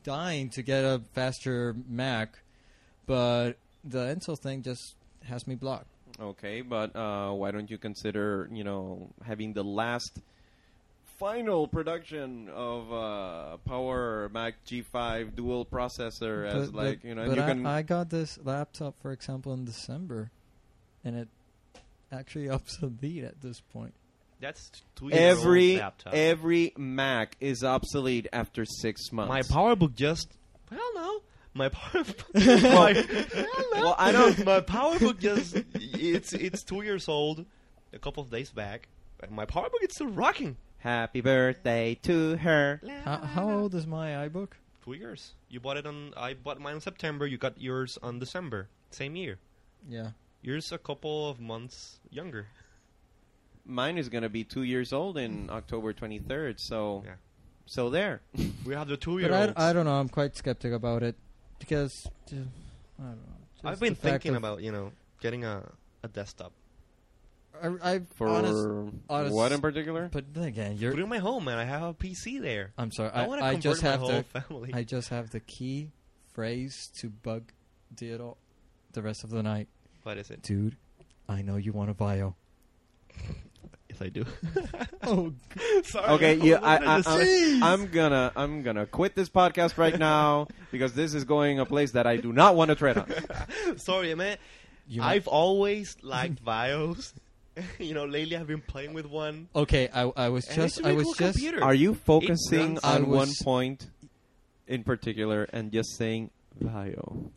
dying to get a faster Mac, but the Intel thing just has me blocked. Okay, but uh, why don't you consider, you know, having the last final production of uh, Power Mac G five dual processor as But- like, but- you know, but and you I, can I got this laptop, for example, in December, and it actually obsolete at this point. That's t- two every years old laptop. every Mac is obsolete after six months. My PowerBook just hell no. My power. my, hell no. Well, I don't- My PowerBook just it's it's two years old. A couple of days back, and my PowerBook is still rocking. Happy birthday to her. How, how old is my iBook? Two years. You bought it on. I bought mine in September. You got yours on December. Same year. Yeah. Yours a couple of months younger. Mine is gonna be two years old in October twenty-third. So, Yeah. so there. We have the two But year I, olds. I don't know. I'm quite skeptic about it because uh, I don't know. Just I've been the fact thinking of- about you know getting a a desktop. I, I For honest, honest- what in particular? but then again, Put you're. it in my home, man. I have a P C there. I'm sorry. I, I, want to I convert just my have whole the. family. I just have the key phrase to bug the all, the rest of the night, What is it? dude. I know you want a bio. Yes, I do. Oh, Sorry. Okay, I yeah, was I, looking I, at the I'm, screen. I'm gonna, I'm gonna quit this podcast right now because this is going a place that I do not want to tread on. Sorry, man. you might- I've always liked Bios. You know, lately I've been playing with one. okay. I I was And just it's a I really was cool just computer. Are you focusing runs- I on one was- point in particular and just saying Vio?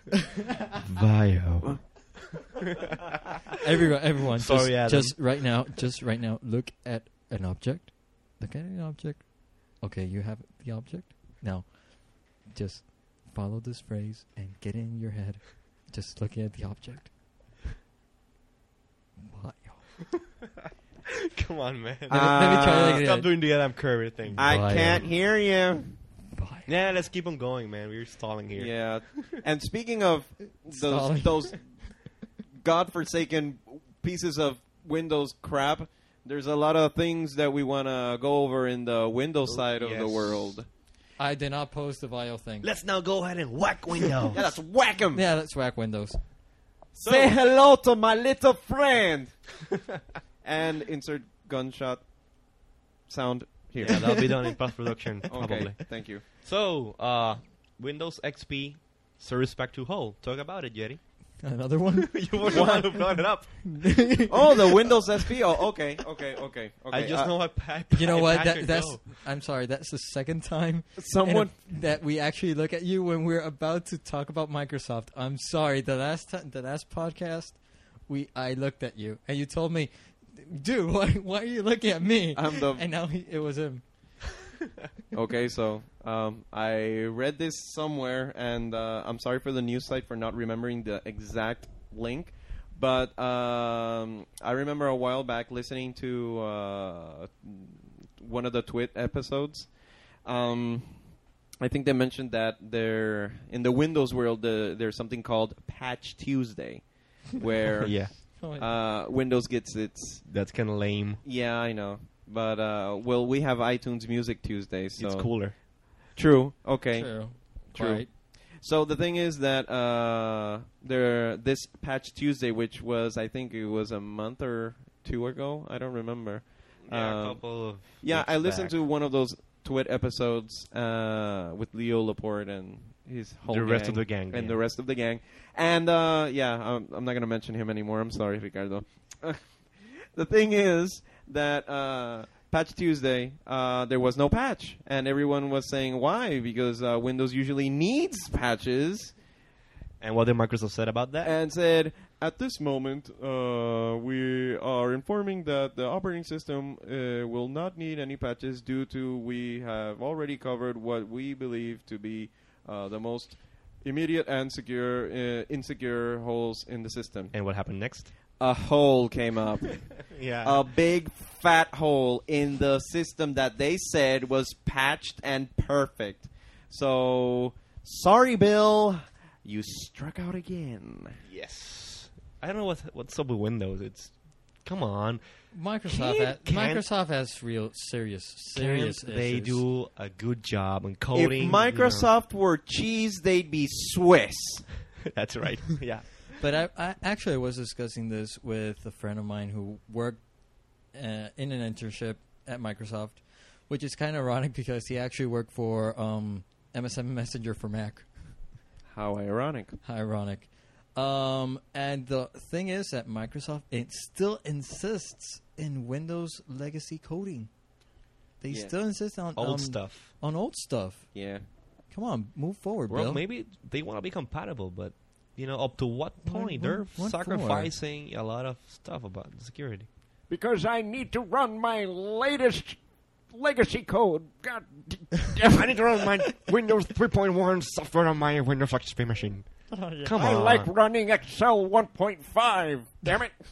Vio. everyone everyone Sorry, just, Adam. just right now just right now look at an object. Look at an object. Okay, you have the object now. Just follow this phrase and get it in your head. Just looking at the object. Bio. Come on, man. Let me- let me try that Uh, again. Stop doing the Adam Curry thing. I Vio. can't hear you. Bio. Yeah, let's keep on going, man. We're stalling here. Yeah. And speaking of those Stalling. those godforsaken pieces of Windows crap, there's a lot of things that we want to go over in the Windows side of the yes. world. I did not post the Vio thing. Let's now go ahead and whack Windows. Yeah, let's whack 'em. Yeah, let's whack Windows. Say hello to my little friend. And insert gunshot sound here. Yeah, that'll be done in post production probably. Okay, thank you. So, uh, Windows X P Service Pack two Whole. Talk about it, Jerry. Another one? You were the one who brought it up. Oh, the Windows S P. Oh, okay, okay, okay, okay. I just Uh, know I, I, You know I what? patch That, and that's. go. I'm sorry. That's the second time someone. in a- that we actually look at you when we're about to talk about Microsoft. I'm sorry. The last time, the last podcast, we I looked at you and you told me, "Dude, why why are you looking at me?" I'm the And now he, it was him. Okay, so um, I read this somewhere, and uh, I'm sorry for the news site for not remembering the exact link. But um, I remember a while back listening to uh, one of the Twit episodes. Um, I think they mentioned that there in the Windows world, the, there's something called Patch Tuesday, where Yeah, Oh, uh, Windows gets its. that's kind of lame. Yeah, I know. But, uh, well, we have iTunes Music Tuesday, so... It's cooler. True. Okay. True. True. Right. So the thing is that uh, there this Patch Tuesday, which was I think it was a month or two ago, I don't remember. Yeah, Um, a couple of. Yeah, weeks I listened back. to one of those Twit episodes uh, with Leo Laporte and his whole the rest gang of the gang. and yeah. the rest of the gang. And uh, yeah, I'm, I'm not gonna mention him anymore. I'm sorry, Ricardo. The thing is that uh, Patch Tuesday, uh, there was no patch, and everyone was saying why? Because uh, Windows usually needs patches, And what did Microsoft said about that? and said at this moment uh, we are informing that the operating system uh, will not need any patches due to we have already covered what we believe to be uh, the most immediate and secure uh, insecure holes in the system. And what happened next? A hole came up. Yeah. A big fat hole in the system that they said was patched and perfect. So, sorry, Bill. You struck out again. Yes. I don't know what what's up with Windows. It's Come on. Microsoft Can't- ha- can't- Microsoft has real serious serious Can't they issues. do a good job on If coding? Microsoft were cheese, they'd be Swiss. You know? That's right. Yeah. But I, I actually was discussing this with a friend of mine who worked uh, in an internship at Microsoft, which is kind of ironic because he actually worked for um, M S N Messenger for Mac. How ironic. Ironic. Um, and the thing is that Microsoft it still insists in Windows legacy coding. They Yeah. still insist on Old um, stuff. on old stuff. Yeah. Come on, move forward, Well, Bill. maybe they want to be compatible, but you know, up to what What- point? what- They're what for? sacrificing a lot of stuff about security. Because I need to run my latest legacy code. God I need to run my Windows three point one software on my Windows X P machine. Come I on. like running Excel one point five. Damn it.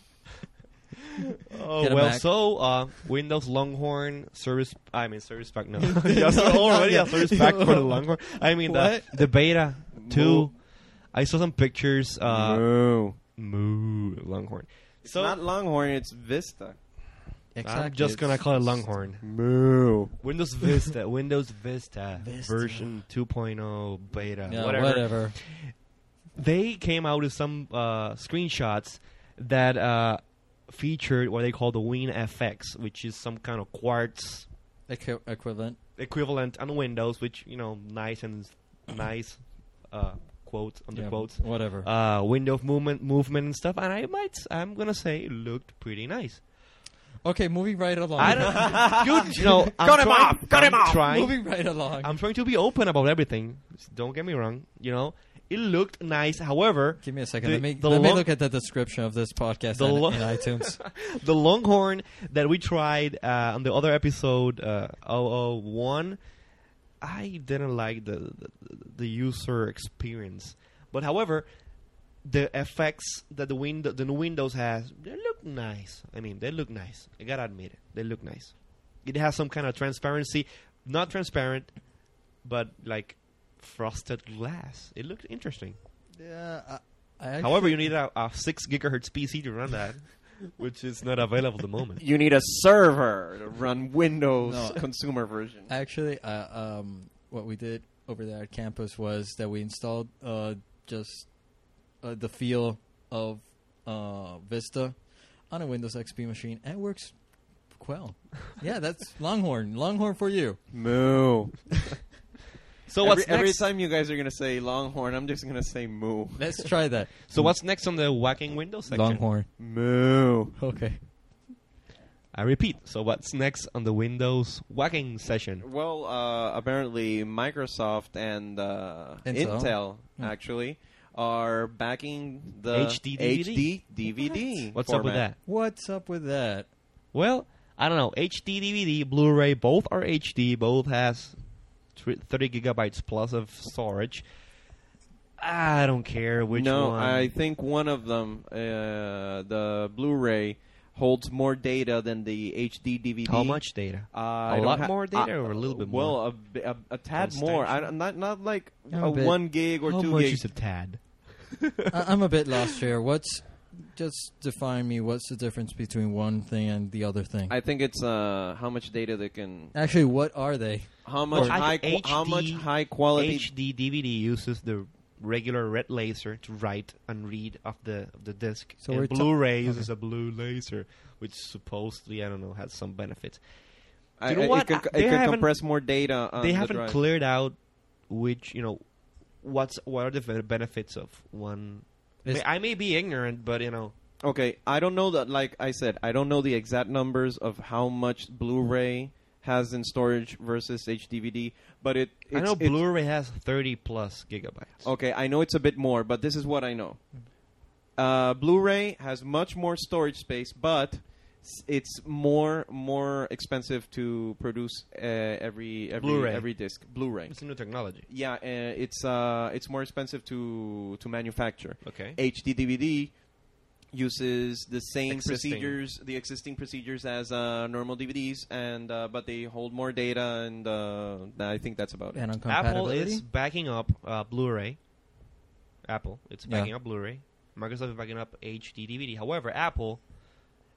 Oh Get a well, Mac. so uh, Windows Longhorn service. I mean service pack. No, yes, already a service pack for the Longhorn. I mean the What? the beta two. I saw some pictures. Uh, Moo. moo Longhorn. It's So not Longhorn, it's Vista. Exactly. I'm just gonna It's- call it Longhorn. Moo. Windows Vista, Windows Vista, Vista. version two point oh beta, Yeah, whatever. whatever. They came out with some uh, screenshots that uh, featured what they call the WinFX, which is some kind of quartz Equi- equivalent. equivalent on Windows, which you know, nice and nice uh, quotes under Yeah, quotes, Whatever. uh, window movement, movement and stuff. And I might, I'm gonna say, it looked pretty nice. Okay, moving right along. I don't, good, you know, I'm Cut him trying, off! Cut him I'm off! Trying, moving right along. I'm trying to be open about everything. Don't get me wrong. You know, it looked nice. However, Give me a second. the- let me the let me long- look at the description of this podcast The in, lo- in iTunes. the Longhorn that we tried uh, on the other episode, uh, oh oh one, I didn't like the, the the user experience. But however, the effects that the win- the new Windows has, they look nice. I mean, they look nice. I gotta admit it. They look nice. It has some kind of transparency, not transparent, but like frosted glass. It looked interesting. Yeah. I, I actually, However, you need a, a six gigahertz P C to run that, which is not available at the moment. You need a server to run Windows No. consumer version. actually, uh, um, what we did over there at campus was that we installed uh, just uh, the feel of uh, Vista on a Windows X P machine, and it works well. Yeah, that's Longhorn. Longhorn for you. Moo. So every, what's every next? time you guys are gonna say Longhorn, I'm just gonna say moo. Let's try that. So what's next on the whacking Windows section? Longhorn. Moo. Okay. I repeat. So what's next on the Windows whacking session? Well, uh, apparently Microsoft and uh, Intel. Intel, Hmm. actually are backing the H D D V D. H D D V D. What's up with format. that? What's up with that? Well, I don't know. H D D V D, Blu-ray, both are H D. Both has thr- thirty gigabytes plus of storage. I don't care which no, one. I think one of them, uh, the Blu-ray, holds more data than the H D D V D. How much data? Uh, I A don't lot ha- more data uh, or a little bit well, more? a bi- a, a tad more. I, don't- not not like I'm a a bit- one gig or How two much gigs. is a tad? I- I'm a bit lost here. What's just define me? What's the difference between one thing and the other thing? I think it's uh, how much data they can, Actually, what are they? how much Well, I high, think qu- how much H D high quality. H D D V D uses the regular red laser to write and read off the of the disc. So and we're ta- Blu-ray okay. uses a blue laser, which supposedly I don't know has some benefits. I- You know I- what? It can, Uh, it they can haven't- compress more data. On they the haven't drive. cleared out which you know what's what are the ve- benefits of one. I, Is- mean, I may be ignorant, but you know Okay, I don't know that. Like I said, I don't know the exact numbers of how much Blu-ray has in storage versus H D V D, but it. It's, I know it's- Blu-ray has thirty plus gigabytes. Okay, I know it's a bit more, but this is what I know. Uh, Blu-ray has much more storage space, but s- it's more more expensive to produce uh, every every Blu-ray. every disc. Blu-ray. It's a new technology. Yeah, uh, it's uh, it's more expensive to to manufacture. Okay. H D D V D uses the same Existing. procedures, the existing procedures as uh, normal D V Ds, and uh, but they hold more data, and uh, I think that's about it. And on Apple compatibility? is backing up uh, Blu-ray. Apple, it's Yeah. backing up Blu-ray. Microsoft is backing up H D D V D. However, Apple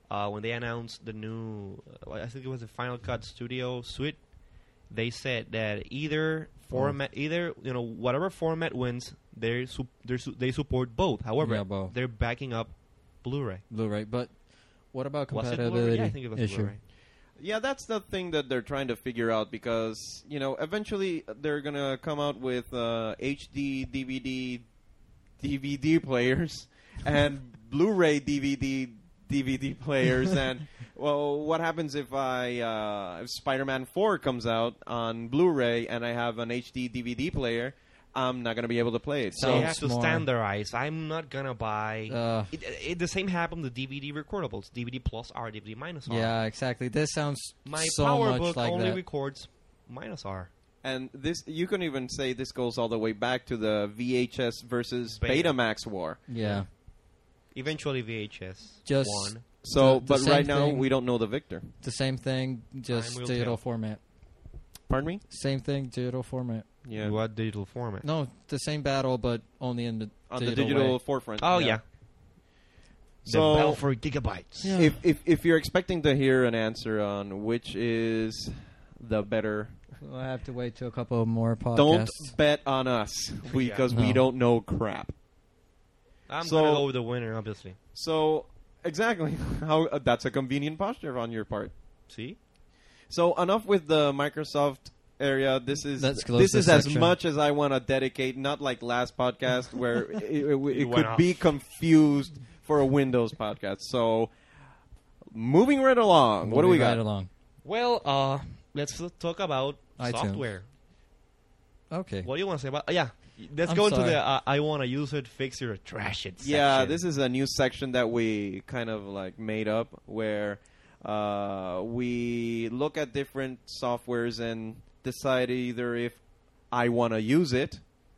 uh, when they announced the new, uh, I think it was the Final Cut Studio Suite, they said that either format, either you know whatever format wins, they su- su- they support both. However, Yeah, both. they're backing up Blu-ray. Blu-ray. But what about Was it Blu-ray? compatibility Yeah, I think it was issue? Blu-ray. Yeah, that's the thing that they're trying to figure out because, you know, eventually they're going to come out with uh, H D D V D D V D players and Blu-ray D V D D V D players. And, well, what happens if I uh, if Spider-Man four comes out on Blu-ray and I have an H D D V D player? I'm not going to be able to play it. So Sounds you have to more- standardize. I'm not gonna buy. Uh, it, it, the same happened with D V D recordables. D V D plus R, D V D minus R. yeah, exactly. This sounds My so much PowerBook like only that. records minus R. And this, you can even say this goes all the way back to the V H S versus Beta. Betamax war. yeah. Eventually V H S Just- won. So, The- the but same right now thing- we don't know the victor. The same thing, just Time will digital tell. format. Pardon me? Same thing, digital format. Yeah. What digital format? No, the same battle, but only in the On digital the digital way. forefront. Oh yeah. So- the battle for gigabytes. Yeah. If, if if you're expecting to hear an answer on which is the better, We'll have to wait till a couple more podcasts. don't bet on us because we No. don't know crap. I'm So- gonna go with the winner, obviously. So exactly how uh, that's a convenient posture on your part. See? So enough with the Microsoft area. This is Let's close this this is as section. much as I want to dedicate. Not like last podcast where it, it, it went could off. be confused for a Windows podcast. So moving right along, what do we Moving right got? along. Well, uh, let's uh, talk about iTunes. software. Okay. What do you want to say about? Uh, yeah, let's I'm go into sorry. the uh, I want to use it, fix it, or trash it. Yeah, section. this is a new section that we kind of like made up where uh, we look at different softwares and decide either if I want to use it.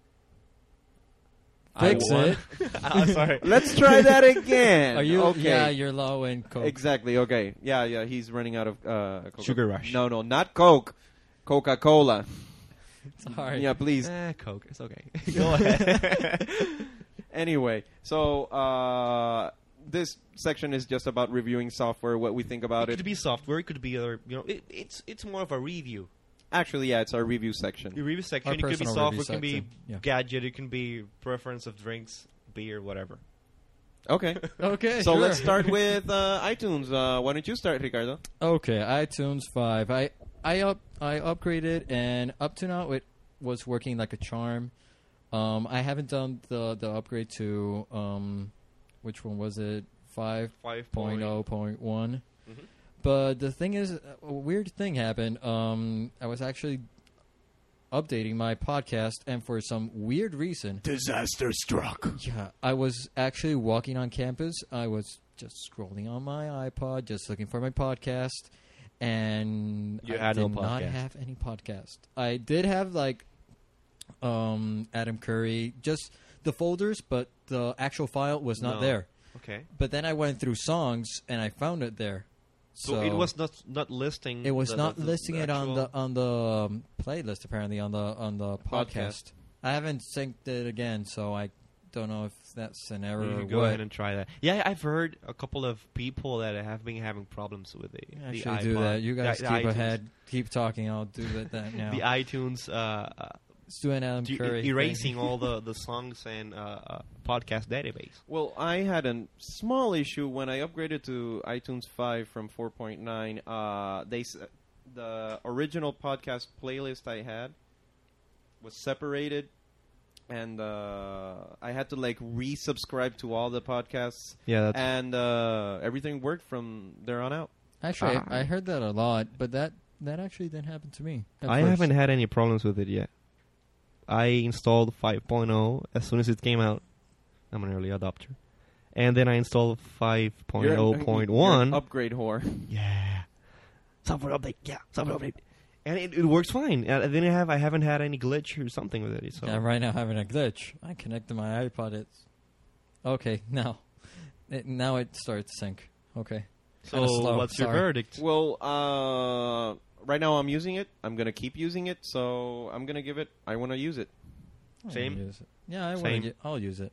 Fix I it. I'm sorry. Let's try that again. Are you? okay? Yeah, you're low in coke. Exactly. Okay. Yeah, yeah. He's running out of uh, Coca- Sugar rush. No, no, not Coke. Coca-Cola. Sorry. Yeah, please. Eh, Coke. It's okay. Go ahead. Anyway, so uh, this section is just about reviewing software, what we think about it it. could be software. It could be other. You know, it, it's it's more of a review. Actually, yeah, it's our review The section. review section. Our It could be personal software. review It can be section, yeah. gadget. It can be preference of drinks, beer, whatever. Okay. Okay. So sure. let's start with uh, iTunes. Uh, why don't you start, Ricardo? Okay, iTunes five. I I up I upgraded, and up to now it was working like a charm. Um, I haven't done the the upgrade to um, which one was it? Five Five point oh point one. Mhm. But the thing is, a weird thing happened. Um, I was actually updating my podcast, and for some weird reason, Disaster struck. yeah, I was actually walking on campus. I was just scrolling on my iPod, just looking for my podcast, and You I had no did not podcast. have any podcast. I did have like um, Adam Curry, just the folders, but the actual file was not No. there. Okay. But then I went through songs, and I found it there. So, it was not not listing. It was the- not the- the- listing the it on actual- the on the um, playlist. Apparently, on the on the podcast. Podcast. I haven't synced it again, so I don't know if that's an error You or should go what. ahead and try that. Yeah, I've heard a couple of people that have been having problems with the, I the should iPod. do that. You guys the, the keep iTunes, ahead, keep talking. I'll do that, that now. The iTunes uh, uh, Let's do an Adam d- Curry thing. erasing all the, the songs and uh, uh, podcast database. Well, I had a small issue when I upgraded to iTunes five from four point nine. Uh, they s- the original podcast playlist I had was separated, and uh, I had to like resubscribe to all the podcasts, Yeah, and uh, everything worked from there on out. Actually, Ah. I heard that a lot, but that that actually didn't happen to me. at I first. haven't had any problems with it yet. I installed five point oh as soon as it came out. I'm an early adopter. And then I installed five point oh point one. You're an upgrade whore. Yeah. Software update. Yeah, software update. And it, it works fine. And then I have I haven't had any glitch or something with it. So Yeah, I'm right now having a glitch. I connected my iPod. It's okay now. It, now it started to sync. Okay. so Kinda slow, what's your sorry. verdict? Well, uh, right now I'm using it. I'm gonna keep using it, so I'm gonna give it. I want to use it. I'll Same? use it. Yeah, I Same. want to. I'll use it.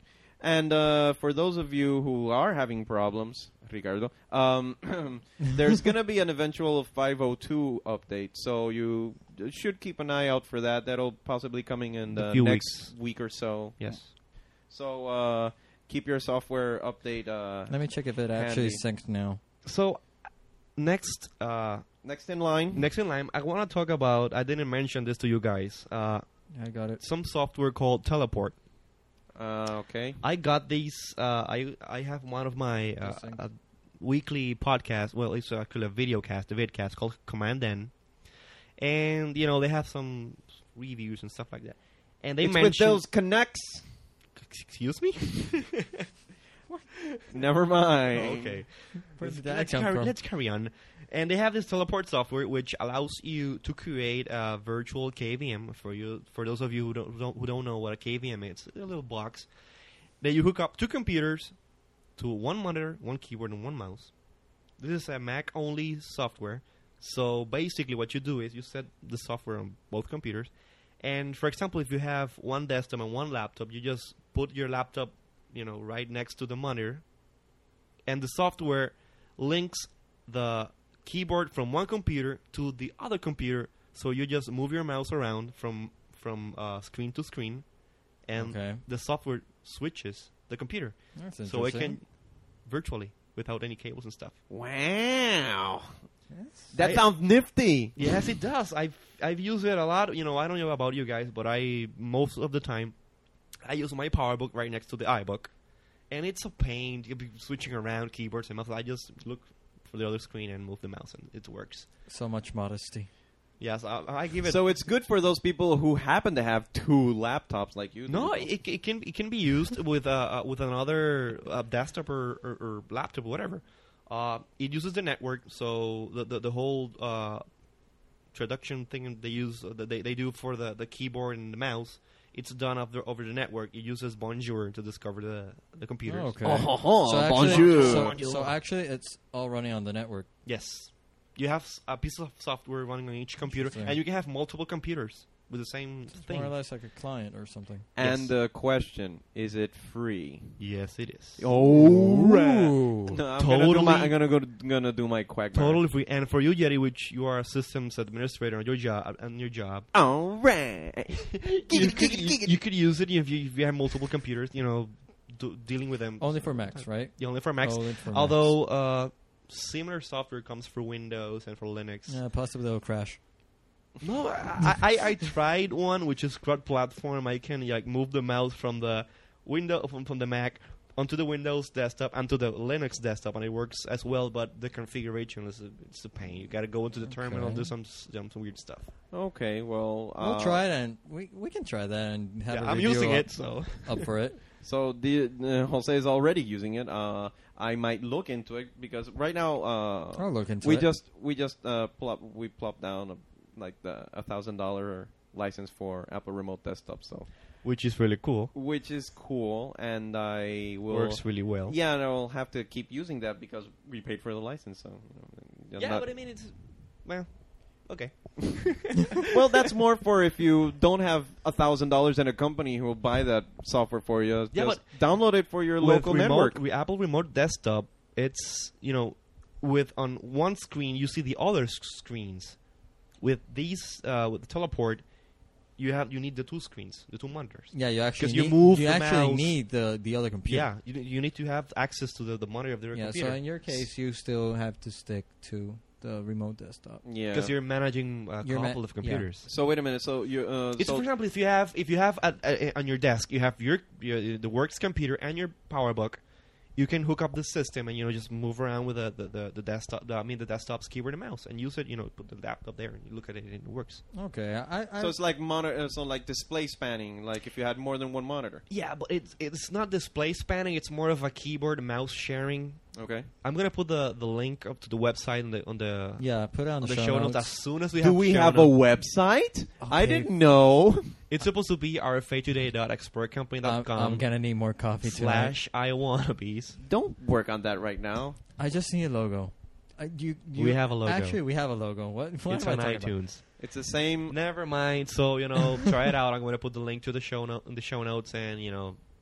And uh, for those of you who are having problems, Ricardo, um, there's going to be an eventual five oh two update, so you should keep an eye out for that. That'll possibly coming in A the few next weeks. week or so. Yes. So uh, keep your software update. Uh, Let me check if it actually Handy. synced now. So next, uh, next in line. next in line, I want to talk about. I didn't mention this to you guys. Uh, I got it. some software called Teleport. Uh, okay. I got these. Uh, I I have one of my uh, Interesting. uh, weekly podcast. Well, it's actually a video cast, a vidcast called Command N, and you know they have some reviews and stuff like that. And they it's with mentioned. those connects. Excuse me. Never mind. Okay. Where Let's, did that let's come carry, from? let's carry on. And they have this teleport software which allows you to create a virtual K V M for you. For those of you who don't, who don't who don't know what a K V M is, it's a little box that you hook up two computers to one monitor, one keyboard, and one mouse. This is a Mac-only software. So basically, what you do is you set the software on both computers. And for example, if you have one desktop and one laptop, you just put your laptop, you know, right next to the monitor, and the software links the keyboard from one computer to the other computer. So you just move your mouse around from from uh, screen to screen, and Okay. the software switches the computer, That's so it interesting. can virtually without any cables and stuff. Wow. Yes. That I- sounds nifty. Yes, it does. I've I've used it a lot. You know, I don't know about you guys, but I most of the time I use my PowerBook right next to the iBook, and it's a pain to be switching around keyboards and mouse. I just look for the other screen and move the mouse, and it works. So much modesty. Yes, I, I give it. So it's good for those people who happen to have two laptops like you. no, do. it, it can it can be used with uh, uh, with another uh, desktop or, or, or laptop or whatever. Uh, it uses the network, so the the, the whole uh, traduction thing they use uh, that they they do for the, the keyboard and the mouse. It's done over, over the network. It uses Bonjour to discover the the computers. Oh, okay. Oh, ho, ho, so actually, bonjour. So, Bonjour. so actually, it's all running on the network. Yes, you have s- a piece of software running on each computer, Interesting. and you can have multiple computers with the same It's thing. more or less like a client or something. And Yes. the question, is it free? Yes, it is. Oh, Ooh. No, I'm gonna do Totally. my, I'm gonna go. Gonna do my quagmire. Totally free. And for you, Yeti, which you are a systems administrator on your job, on your job, All right. you, could, you, you could use it if you, if you have multiple computers. You know, do, dealing with them. Only for Macs, right? Yeah, only for Macs. Only for Macs. Although uh, similar software comes for Windows and for Linux. Yeah, possibly it'll crash. No, I, I I tried one which is cross-platform. I can like move the mouse from the window from, from the Mac onto the Windows desktop and to the Linux desktop, and it works as well. But the configuration is a, it's a pain. You got to go into the terminal, Okay. do some s- some some weird stuff. Okay, well, uh, We'll try it, and we we can try that and have Yeah, a I'm review using up, it, so up for it. So the uh, Jose is already using it. Uh, I might look into it because right now uh, I'll look into we it. just we just uh, plop we plop down a, like the a thousand dollar license for Apple Remote Desktop. So which is really cool. which is cool, and I will Works really well. Yeah, and I'll have to keep using that because we paid for the license. So you know, Yeah, not- but I mean it's well, okay. well, that's more for if you don't have a thousand dollars in a company who will buy that software for you. Yeah, Just download it for your With local remote, network. with Apple Remote Desktop, it's you know, with on one screen you see the other s- screens. With these, uh, with the teleport, you have you need the two screens, the two monitors. Yeah, you actually 'Cause you need, move you the actually mouse. need the the other computer. Yeah, you you need to have access to the, the monitor of the Yeah, computer. so in your case, you still have to stick to the remote desktop. Yeah. because you're managing a You're ma- couple of yeah. computers. So wait a minute. So you uh, It's so for example, if you have if you have at, uh, on your desk, you have your, your the works computer and your PowerBook. You can hook up the system and you know just move around with the the, the, the desktop. The, I mean the desktop's keyboard and mouse, and use it. You know, put the laptop there and you look at it and it works. Okay, I, I so it's like monitor. Uh, so like display spanning. Like if you had more than one monitor. Yeah, but it's it's not display spanning. It's more of a keyboard and mouse sharing. Okay. I'm gonna put the, the link up to the website on the on the, yeah, put it on on the, the show notes as soon as we Do have. we show have a notes. website? I Okay. didn't know. It's supposed to be r f a today dot expert company dot I'm, com I'm gonna need more coffee tonight. slash I wannabes. Don't work on that right now. I just need a logo. I, you, you, We have a logo. Actually, we have a logo. What? what It's am I on talking about? iTunes. It's the same. Never mind. So you know, try it out. I'm going to put the link to the show note in the show notes, and you know,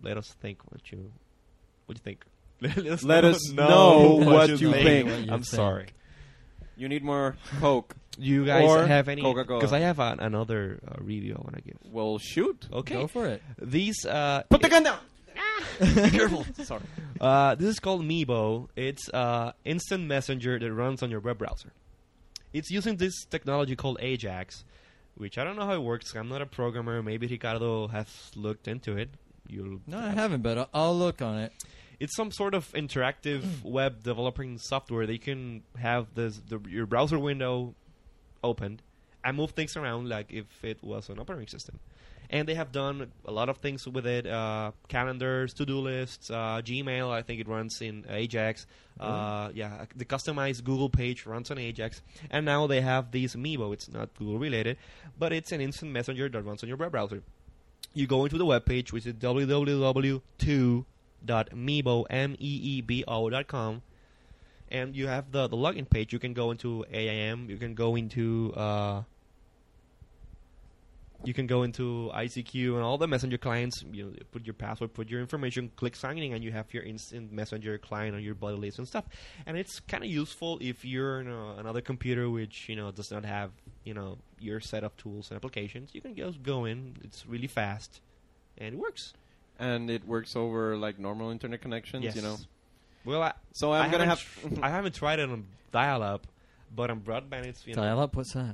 let us think what you what you think. let us Let know, us know what you think. I'm What you sorry. You need more Coke. You guys Or have any? Coca-Cola. Because I have an, another uh, review I want to give. Well, shoot. Okay. Go for it. These uh, Put the gun down. be careful. Sorry. Uh, this is called Meebo. It's uh, instant messenger that runs on your web browser. It's using this technology called Ajax, which I don't know how it works. I'm not a programmer. Maybe Ricardo has looked into it. You'll No, I haven't, but I'll, I'll look on it. It's some sort of interactive web developing software that you can have this, the, your browser window opened and move things around like if it was an operating system. And they have done a lot of things with it: uh, calendars, to-do lists, uh, Gmail. I think it runs in Ajax. Uh, yeah, the customized Google page runs on Ajax. And now they have these Meebo. It's not Google related, but it's an instant messenger that runs on your web browser. You go into the web page, which is w w w two dot meebo m e e b o dot com, and you have the the login page. You can go into A I M. You can go into uh, you can go into I C Q and all the messenger clients. You know, put your password, put your information, click signing, and you have your instant messenger client on your buddy list and stuff. And it's kind of useful if you're in a, another computer which you know does not have you know your set of tools and applications. You can just go in. It's really fast, and it works. And it works over like normal internet connections, Yes. you know. Well, I, So I'm I gonna haven't have. tr- I haven't tried it on dial-up, but on broadband, it's you know. Dial-up, what's that?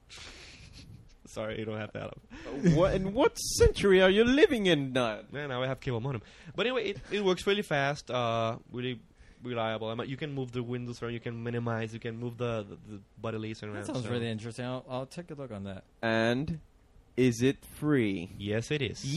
Sorry, you don't have dial-up. what in what century are you living in, now? Man, now I have cable modem. But anyway, it, it works really fast, uh, really reliable. I mean, you can move the windows around, you can minimize, you can move the the, the body list around. That sounds so- really interesting. I'll, I'll take a look on that. And is it free? Yes, it is.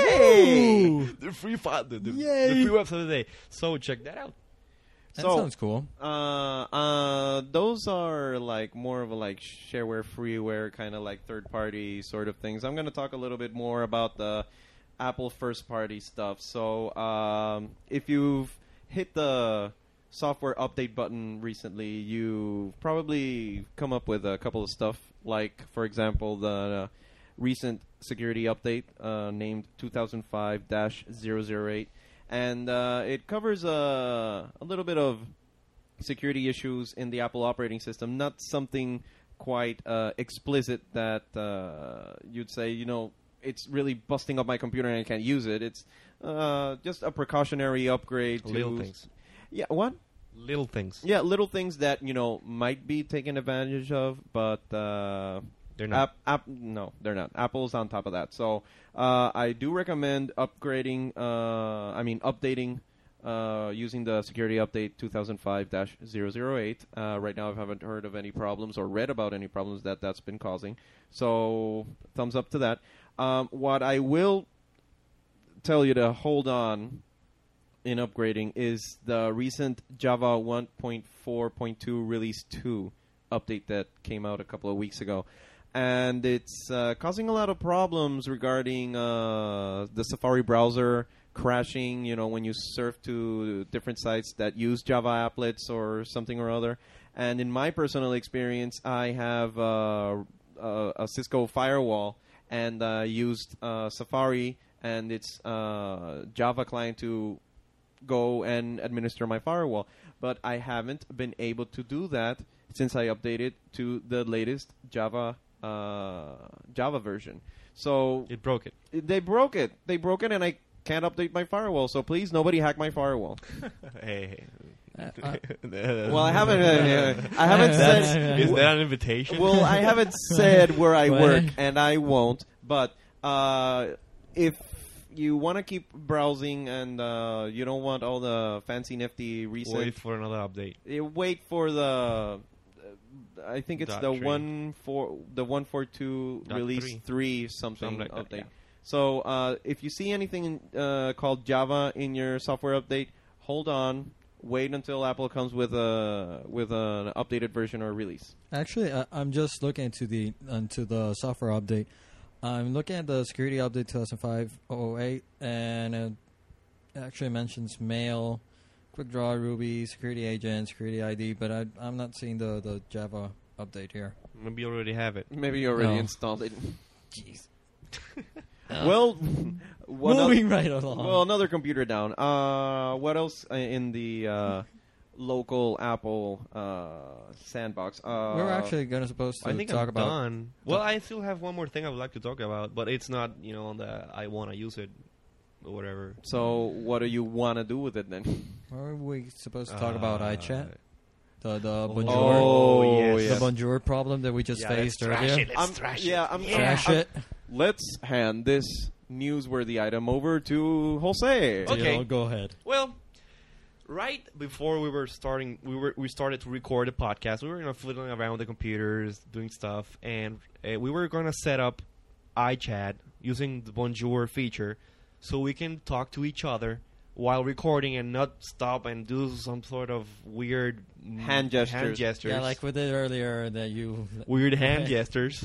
Yay! The free file, the, the, Yay! the free website of the day. So check that out. That So- sounds cool. Uh, uh, those are like more of a like shareware, freeware kind of like third party sort of things. I'm going to talk a little bit more about the Apple first party stuff. So, um, if you've hit the software update button recently, you've probably come up with a couple of stuff. Like, for example, the uh, recent security update uh, named two thousand five dash zero zero eight. And uh, it covers uh, a little bit of security issues in the Apple operating system. Not something quite uh, explicit that uh, you'd say, you know, it's really busting up my computer and I can't use it. It's uh, just a precautionary upgrade to Little things. Yeah, what? Little things. Yeah, little things that, you know, might be taken advantage of, but uh, They're not. App, app, no, they're not. Apple's on top of that. So uh, I do recommend upgrading, uh, I mean, updating uh, using the security update two thousand five dash zero zero eight. Uh, right now I haven't heard of any problems or read about any problems that that's been causing. So thumbs up to that. Um, what I will tell you to hold on in upgrading is the recent Java one point four point two Release two update that came out a couple of weeks ago. And it's uh, causing a lot of problems regarding uh, the Safari browser crashing, you know, when you surf to different sites that use Java applets or something or other. And in my personal experience, I have uh, a, a Cisco firewall and uh, used uh, Safari and its uh, Java client to go and administer my firewall. But I haven't been able to do that since I updated to the latest Java uh, Java version. So It broke it. they broke it. They broke it, and I can't update my firewall. So please, nobody hack my firewall. hey. Uh, uh, Well, I haven't. Uh, I haven't said. Is that an invitation? Well, I haven't said where I What? work, and I won't. But uh, if you want to keep browsing and uh, you don't want all the fancy, nifty recent, Wait for another update. uh, wait for the. Uh, I think it's Dot the three. one four the one four two Dot release three. three something Something like that, update. yeah. So uh, if you see anything uh, called Java in your software update, hold on. Wait until Apple comes with a with an updated version or release. Actually, I, I'm just looking into the into the software update. I'm looking at the security update two thousand five dash zero zero eight, and it actually mentions Mail, QuickDraw, Ruby, Security Agent, Security I D, but I, I'm not seeing the, the Java update here. Maybe you already have it. Maybe you already No. installed it. Jeez. Well, What Moving oth- right along. Well, another computer down. Uh, what else i- in the uh, local Apple uh, sandbox? Uh, we were actually gonna supposed to I think talk I'm about. done. Well, I still have one more thing I would like to talk about, but it's not, you know, on the I want to use it or whatever. So, what do you want to do with it then? Were we supposed to talk about Uh, iChat? The the Oh, bonjour, Oh, yes. yes. the bonjour problem that we just Yeah, faced let's trash earlier. it. Let's I'm, trash yeah, it. I'm Yeah. Trash I'm- it. Let's hand this newsworthy item over to Jose. Okay. Jill, go ahead. Well, right before we were starting, we were we started to record the podcast. We were, you know, fiddling around with the computers, doing stuff, and uh, we were going to set up iChat using the Bonjour feature, so we can talk to each other while recording and not stop and do some sort of weird mm, Hand gestures. Hand gestures. Yeah, like we did earlier that you. weird hand gestures.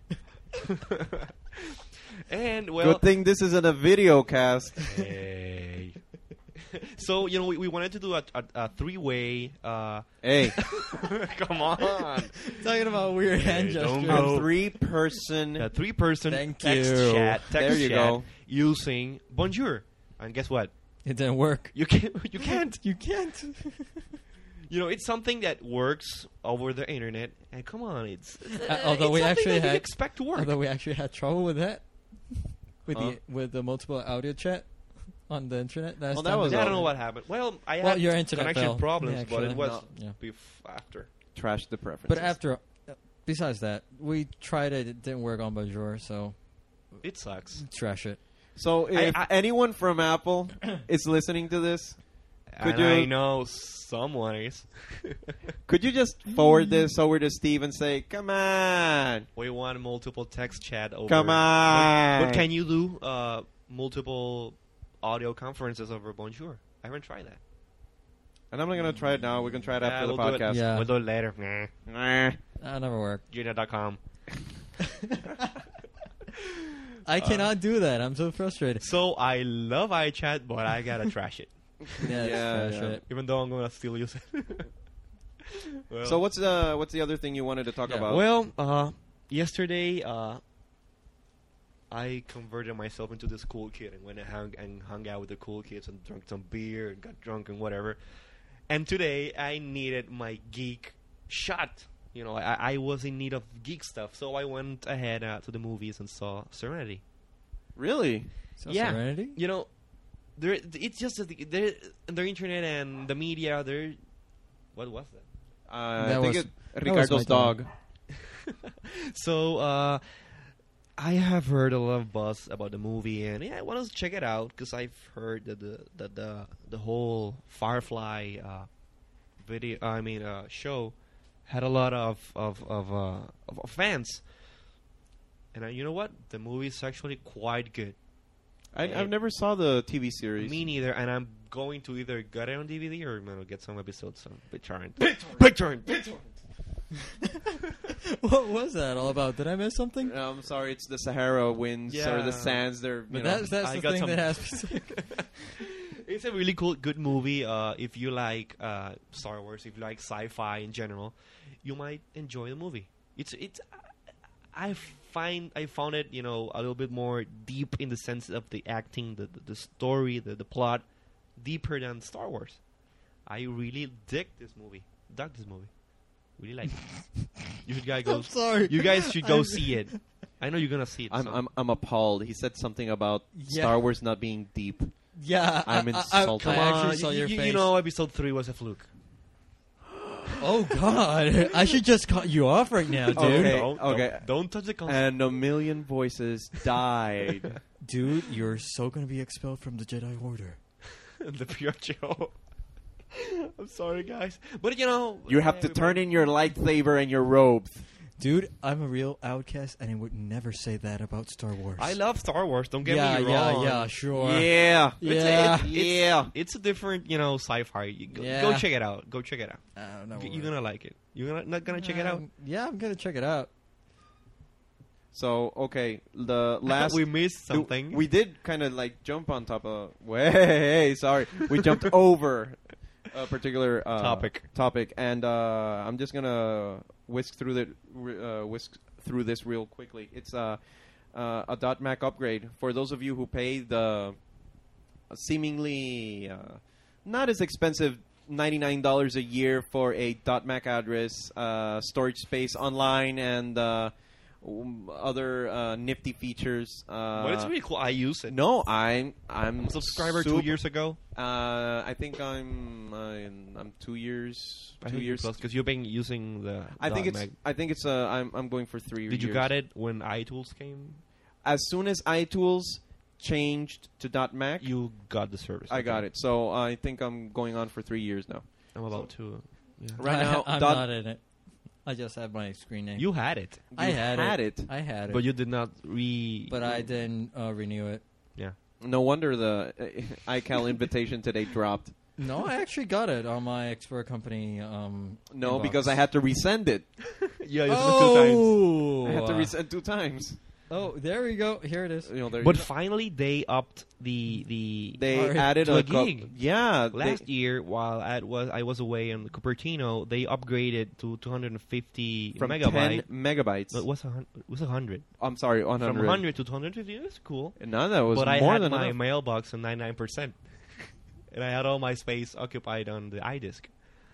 And well, Good thing this isn't a video cast. hey. So you know, we, we wanted to do a, a, a three-way. Uh, Hey, come on, Talking about weird hand Hey, don't gestures. go. a three-person. a three-person Thank text you. chat. Text There you chat go. using Bonjour, and guess what? It didn't work. You can't. You can't. You can't. You know, it's something that works over the internet, and come on, it's. Uh, although it's we something actually that you had- expect to work. Although we actually had trouble with that, with Huh? the with the multiple audio chat on the internet. Last Well, that time was we I all don't know did. what happened. Well, I Well, had your internet connection fell. problems, Yeah, but it actually. was No. Yeah. bef- after. Trash the preferences. But after, uh, besides that, we tried it. It didn't work on Bonjour, so It sucks. trash it. So, if I- I- anyone from Apple is listening to this, Could and I you- know someone is. could you just forward this over to Steve and say, "Come on, We want multiple text chat over. come on"? But can you do uh, multiple audio conferences over Bonjour? I haven't tried that. And I'm not gonna try it now. We can try it Yeah, after the we'll do it. podcast. Yeah. We'll do it later. Nah. Nah. That never worked. Gmail dot com. I Uh, cannot do that. I'm so frustrated. So I love iChat, but I gotta trash it. Yeah, it's Yeah, trash yeah. it. Even though I'm gonna still use it. Well, So what's the what's the other thing you wanted to talk Yeah. about? Well, uh, yesterday, uh, I converted myself into this cool kid and went and hung, and hung out with the cool kids and drank some beer and got drunk and whatever. And today, I needed my geek shot. You know, I, I was in need of geek stuff, so I went ahead uh, to the movies and saw Serenity. Really? So Yeah. Serenity? You know, there it's just that the, the, the internet and the media. They're what was that? Uh, That I think was- it, that was Ricardo's my dog. time. So, uh, I have heard a lot of buzz about the movie, and yeah, I want to check it out because I've heard that the that the the whole Firefly uh, video, I mean, uh, show had a lot of of of, uh, of, of fans. And uh, you know what? The movie is actually quite good. I, I've never saw the T V series. Me neither, and I'm going to either get it on D V D or I'm gonna get some episodes on BitTorrent. BitTorrent. BitTorrent. What was that all about? Did I miss something? Uh, I'm sorry, it's the Sahara winds or Yeah. the sands. They're you But know, that's that's I the got thing some- that has. It's a really cool, good movie. Uh, if you like uh, Star Wars, if you like sci-fi in general, you might enjoy the movie. It's it's. I find I found it, you know, a little bit more deep in the sense of the acting, the the, the story, the the plot, deeper than Star Wars. I really dig this movie. Dug this movie. Really like it. You should guys go. I'm sorry. You guys should go I'm- see it. I know you're gonna see it. I'm, so- I'm I'm appalled. He said something about Yeah. Star Wars not being deep. Yeah, I'm I, I- insulted. I, Come I on, actually saw you, your you- face. you know, episode three was a fluke. Oh God! I should just cut you off right now, dude. Okay, Don't, okay. Don't, don't touch the console. And a million voices died. Dude, you're so gonna be expelled from the Jedi Order. the pure Joe. I'm sorry, guys, but you know, You have to turn in your lightsaber and your robes. Dude, I'm a real outcast, and I would never say that about Star Wars. I love Star Wars. Don't get yeah, me yeah, wrong. yeah, sure. Yeah. It's Yeah. A, it, it's, Yeah. It's a different, you know, sci-fi. You go, Yeah. go check it out. Go check it out. I don't know. You're gonna like it. You're gonna, not gonna check it out. Um, Yeah, I'm gonna check it out. So okay, the last we missed do- something. We did kind of like jump on top of. Way, sorry, we jumped over a particular uh, Topic. Topic, and uh, I'm just gonna whisk through the uh, whisk through this real quickly. It's uh, uh, a dot Mac upgrade. For those of you who pay the seemingly uh, not as expensive ninety-nine dollars a year for a dot Mac address, uh, storage space online, and uh, um, other uh, nifty features. Uh, But it's really cool. I use it. No, I'm I'm I'm a subscriber super- two years ago. Uh, I think I'm I'm, I'm two years I two think years. because you've been using the. I think dot it's Mac. I think it's uh I'm I'm going for three. Did you years. got it when iTools came? As soon as iTools changed to dot Mac, You got the service. I got okay. it. So I think I'm going on for three years now. I'm about to. Yeah. Right I, now, I'm dot- not in it. I just have my screen name. You had it, I You had, had it. it. I had it. but you did not re. but I didn't uh, renew it. Yeah. No wonder the uh, iCal invitation today dropped. No, I actually got it on my expert company. Um, No, inbox. because I had to resend it. Yeah, you took two times. Oh, I had to uh, resend two times. oh, there we go. Here it is. You know, there But you go. finally, they upped the the they Alright, added to a co- gig. Yeah, they- last year while I was I was away in Cupertino. They upgraded to two hundred fifty from megabyte. ten megabytes. No, it was a hun- it was a hundred. I'm sorry, one From hundred. one hundred to two hundred fifty. That's cool. No, that was But I more had than my enough. mailbox on ninety-nine percent, and I had all my space occupied on the iDisk.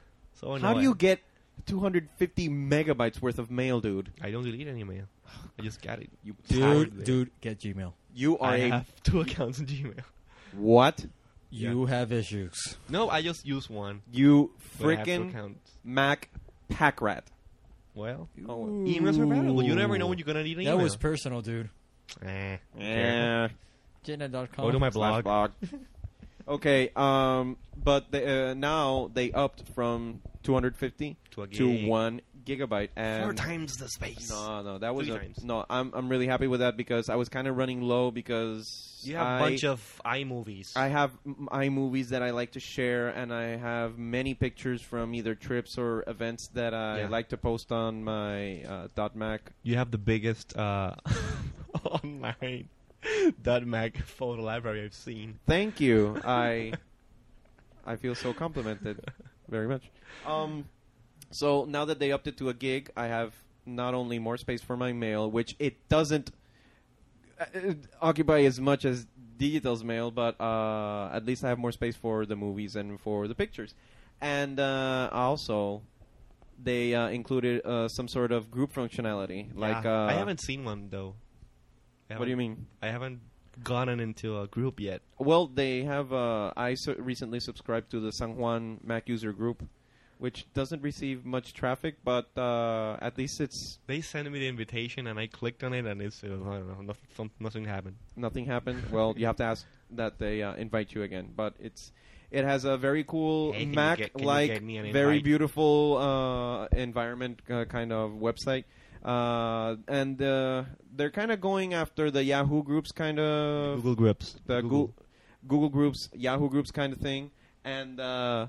So How no, do you get two hundred fifty megabytes worth of mail, dude? I don't delete any mail. I just got it. You Dude, dude, get Gmail. You are I a have two accounts in Gmail. what? You have issues. No, I just use one. You But I have two freaking accounts. Mac pack rat. Well, Oh, emails are valuable. You never know when you're gonna need an That email. was personal, dude. Eh. yeah. Jenna dot com. Go to my Slash blog. blog. Okay, um, but they, uh, now they upped from two hundred fifty To a to gig. one gigabyte, and Four times the space. no, no, that was Three a, times. no. I'm I'm really happy with that because I was kind of running low because You have I, a bunch of iMovies. I have m- iMovies that I like to share, and I have many pictures from either trips or events that I Yeah. like to post on my uh, dot Mac. You have the biggest uh, online dot Mac photo library I've seen. Thank you. I I feel so complimented very much. Um, so now that they upped it to a gig, I have not only more space for my mail, which it doesn't uh, occupy as much as Digital's mail, but uh, at least I have more space for the movies and for the pictures. And uh, also, they uh, included uh, some sort of group functionality. Like Yeah. uh, I haven't seen one though. I What do you haven't- mean? I haven't gotten into a group yet. Well, they have. Uh, I su- recently subscribed to the San Juan Mac user group, which doesn't receive much traffic, but uh, at least it's They sent me the invitation and I clicked on it and it's uh, I don't know, nothing, some, nothing happened. nothing happened. Well, you have to ask that they uh, invite you again. But it's it has a very cool Hey, can you Mac get- can you like get me an very invite? beautiful uh, environment uh, kind of website. Uh, and uh, they're kind of going after the Yahoo groups kind of Google Groups. the Google. Google. Google groups, Yahoo groups kind of thing, and uh,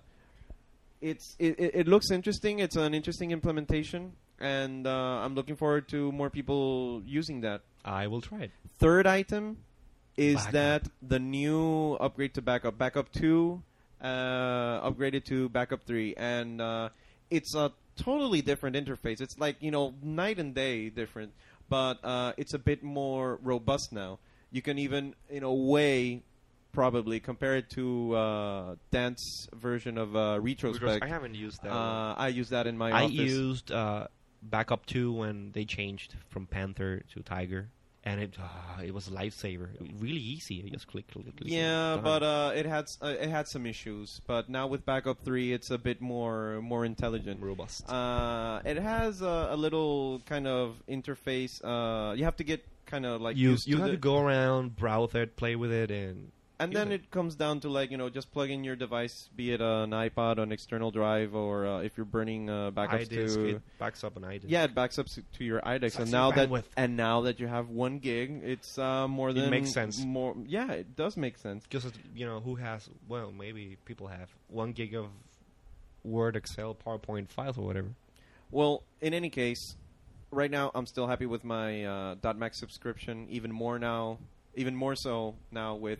it's it, it, it looks interesting. It's an interesting implementation, and uh, I'm looking forward to more people using that. I will try it. Third item is Backup. that the new upgrade to backup, backup two, uh, upgraded to backup three, and uh, it's a totally different interface. It's like, you know, night and day different, but uh, it's a bit more robust now. You can even, in a way, probably compare it to uh, Dan's version of uh, Retrospect. I haven't used that. one. Uh, I use that in my I office. used uh, Backup two when they changed from Panther to Tiger, and it uh, it was a lifesaver. Really easy. You just click, click, click. Yeah, done. but uh, it had s- uh, it had some issues. But now with Backup three, it's a bit more more intelligent. robust. Uh, it has a, a little kind of interface. Uh, you have to get kind of like you used you to have the, to go around, browse it, play with it, and and use then it. it comes down to like, you know, just plug in your device, be it an iPod, an external drive, or uh, if you're burning uh, backups iDisk, to. it backs up an iDisk. Yeah, it backs up to, to your iDex, Sucks and your now that bandwidth. and now that you have one gig, it's uh, more It than makes sense. More, yeah, it does make sense. Because you know who has well maybe people have one gig of Word, Excel, PowerPoint files or whatever. Well, in any case, right now I'm still happy with my uh, .Mac subscription. Even more now, even more so now with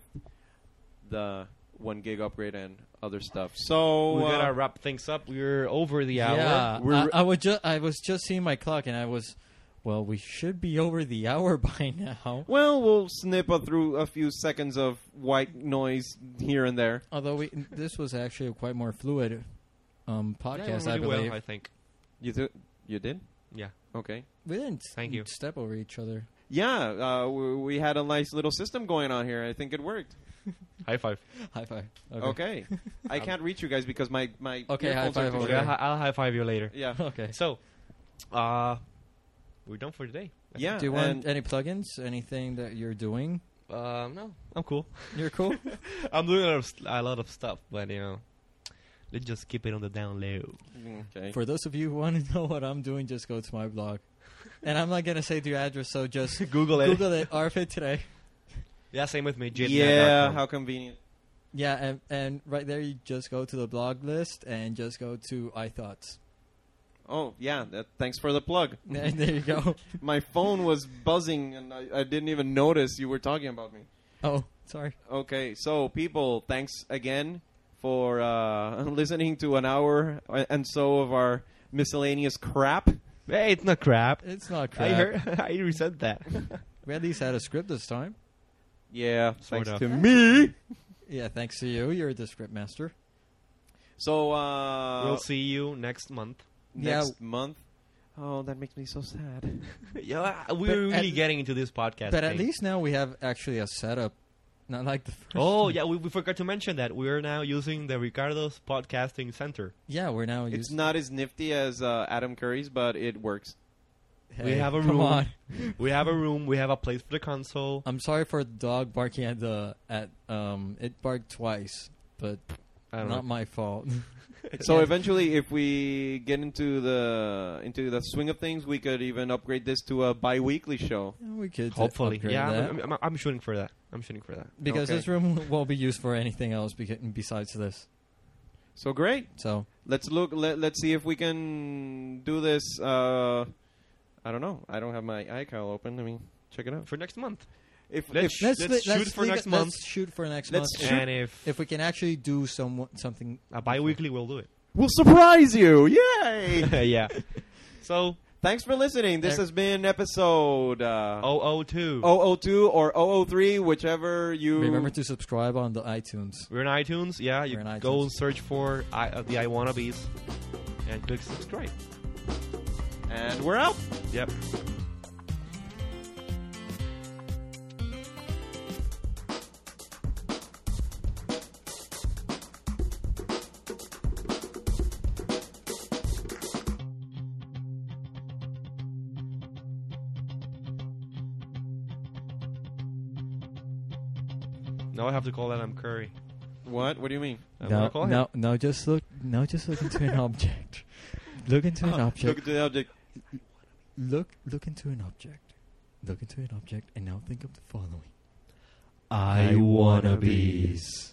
the one gig upgrade and other stuff. So We uh, gotta wrap things up. We're over the hour. Yeah, We're- I, I was just I was just seeing my clock and I was Well, we should be over the hour by now. Well, we'll snip a through a few seconds of white noise here and there. Although we, this was actually a quite more fluid um, podcast, yeah, I really believe. well, I think. You th- you did? Yeah. Okay. We didn't Thank you. step over each other. Yeah, uh, we, we had a nice little system going on here. I think it worked. High five. High five. Okay. Okay. I can't reach you guys because my my Okay, high earphones are five too over Okay, big. there. I'll, I'll high five you later. Yeah. Okay. So, uh, we're done for today. I Yeah. Do you want and any plugins? Anything that you're doing? think. Uh, no, I'm cool. You're cool? I'm doing a lot, of, st- a lot of stuff, but you know, let's just keep it on the down low. okay. For those of you who want to know what I'm doing, just go to my blog. And I'm not going to say the address, so just Google it. Google it. R F A today. Yeah, same with me. jidnet dot Yeah, com. how convenient. Yeah, and, and right there you just go to the blog list and just go to iThoughts. Oh, yeah. That, thanks for the plug. And there you go. My phone was buzzing, and I, I didn't even notice you were talking about me. Oh, sorry. Okay, so people, thanks again for uh, listening to an hour and so of our miscellaneous crap. Hey, it's not crap. It's not crap. I heard. I resent that. We at least had a script this time. Yeah, Sort thanks of. to me. Yeah, thanks to you. You're the script master. So, uh, We'll see you next month. next month. Oh, that makes me so sad. Yeah, we're But really at- getting into this podcast. But at thing. least now we have actually a setup. Not like the first Oh one. yeah, we, we forgot to mention that we're now using the Ricardo's Podcasting Center. Yeah, we're now It's using... not as nifty as uh, Adam Curry's, but it works. we have a come room. on. We have a room. We have a place for the console. I'm sorry for the dog barking at the... at um. It barked twice, but I don't not know. my fault. So Yeah. eventually, if we get into the into the swing of things, we could even upgrade this to a bi-weekly show. Yeah, we could Hopefully, upgrade yeah. that. I'm, I'm, I'm shooting for that. I'm shooting for that. Because Okay. this room won't be used for anything else beca- besides this. So great. So Let's look. Let, let's see if we can do this. Uh, I don't know. I don't have my iCal open. Let me check it out. For next month. If, Let's if sh- let's, let's li- shoot for leave next it- month. Let's shoot for next Let's month. shoot- And if, If we can actually do some something a bi-weekly, we'll do it. we'll surprise you, yay! yeah. So, Thanks for listening. This There- has been episode uh, oh oh two. oh oh two or oh oh three, whichever you remember to subscribe on the iTunes. We're in iTunes. Yeah, you We're in go iTunes. search for I, uh, the I Wannabes and click subscribe. And we're out. Yep. Now I have to call Adam Curry. What? What do you mean? I'm No, gonna call him. no, no. Just look. No, just look into an object. Look into an Look object. at the object. Look, look into an object. Look into an object, and now think of the following. I Wannabes.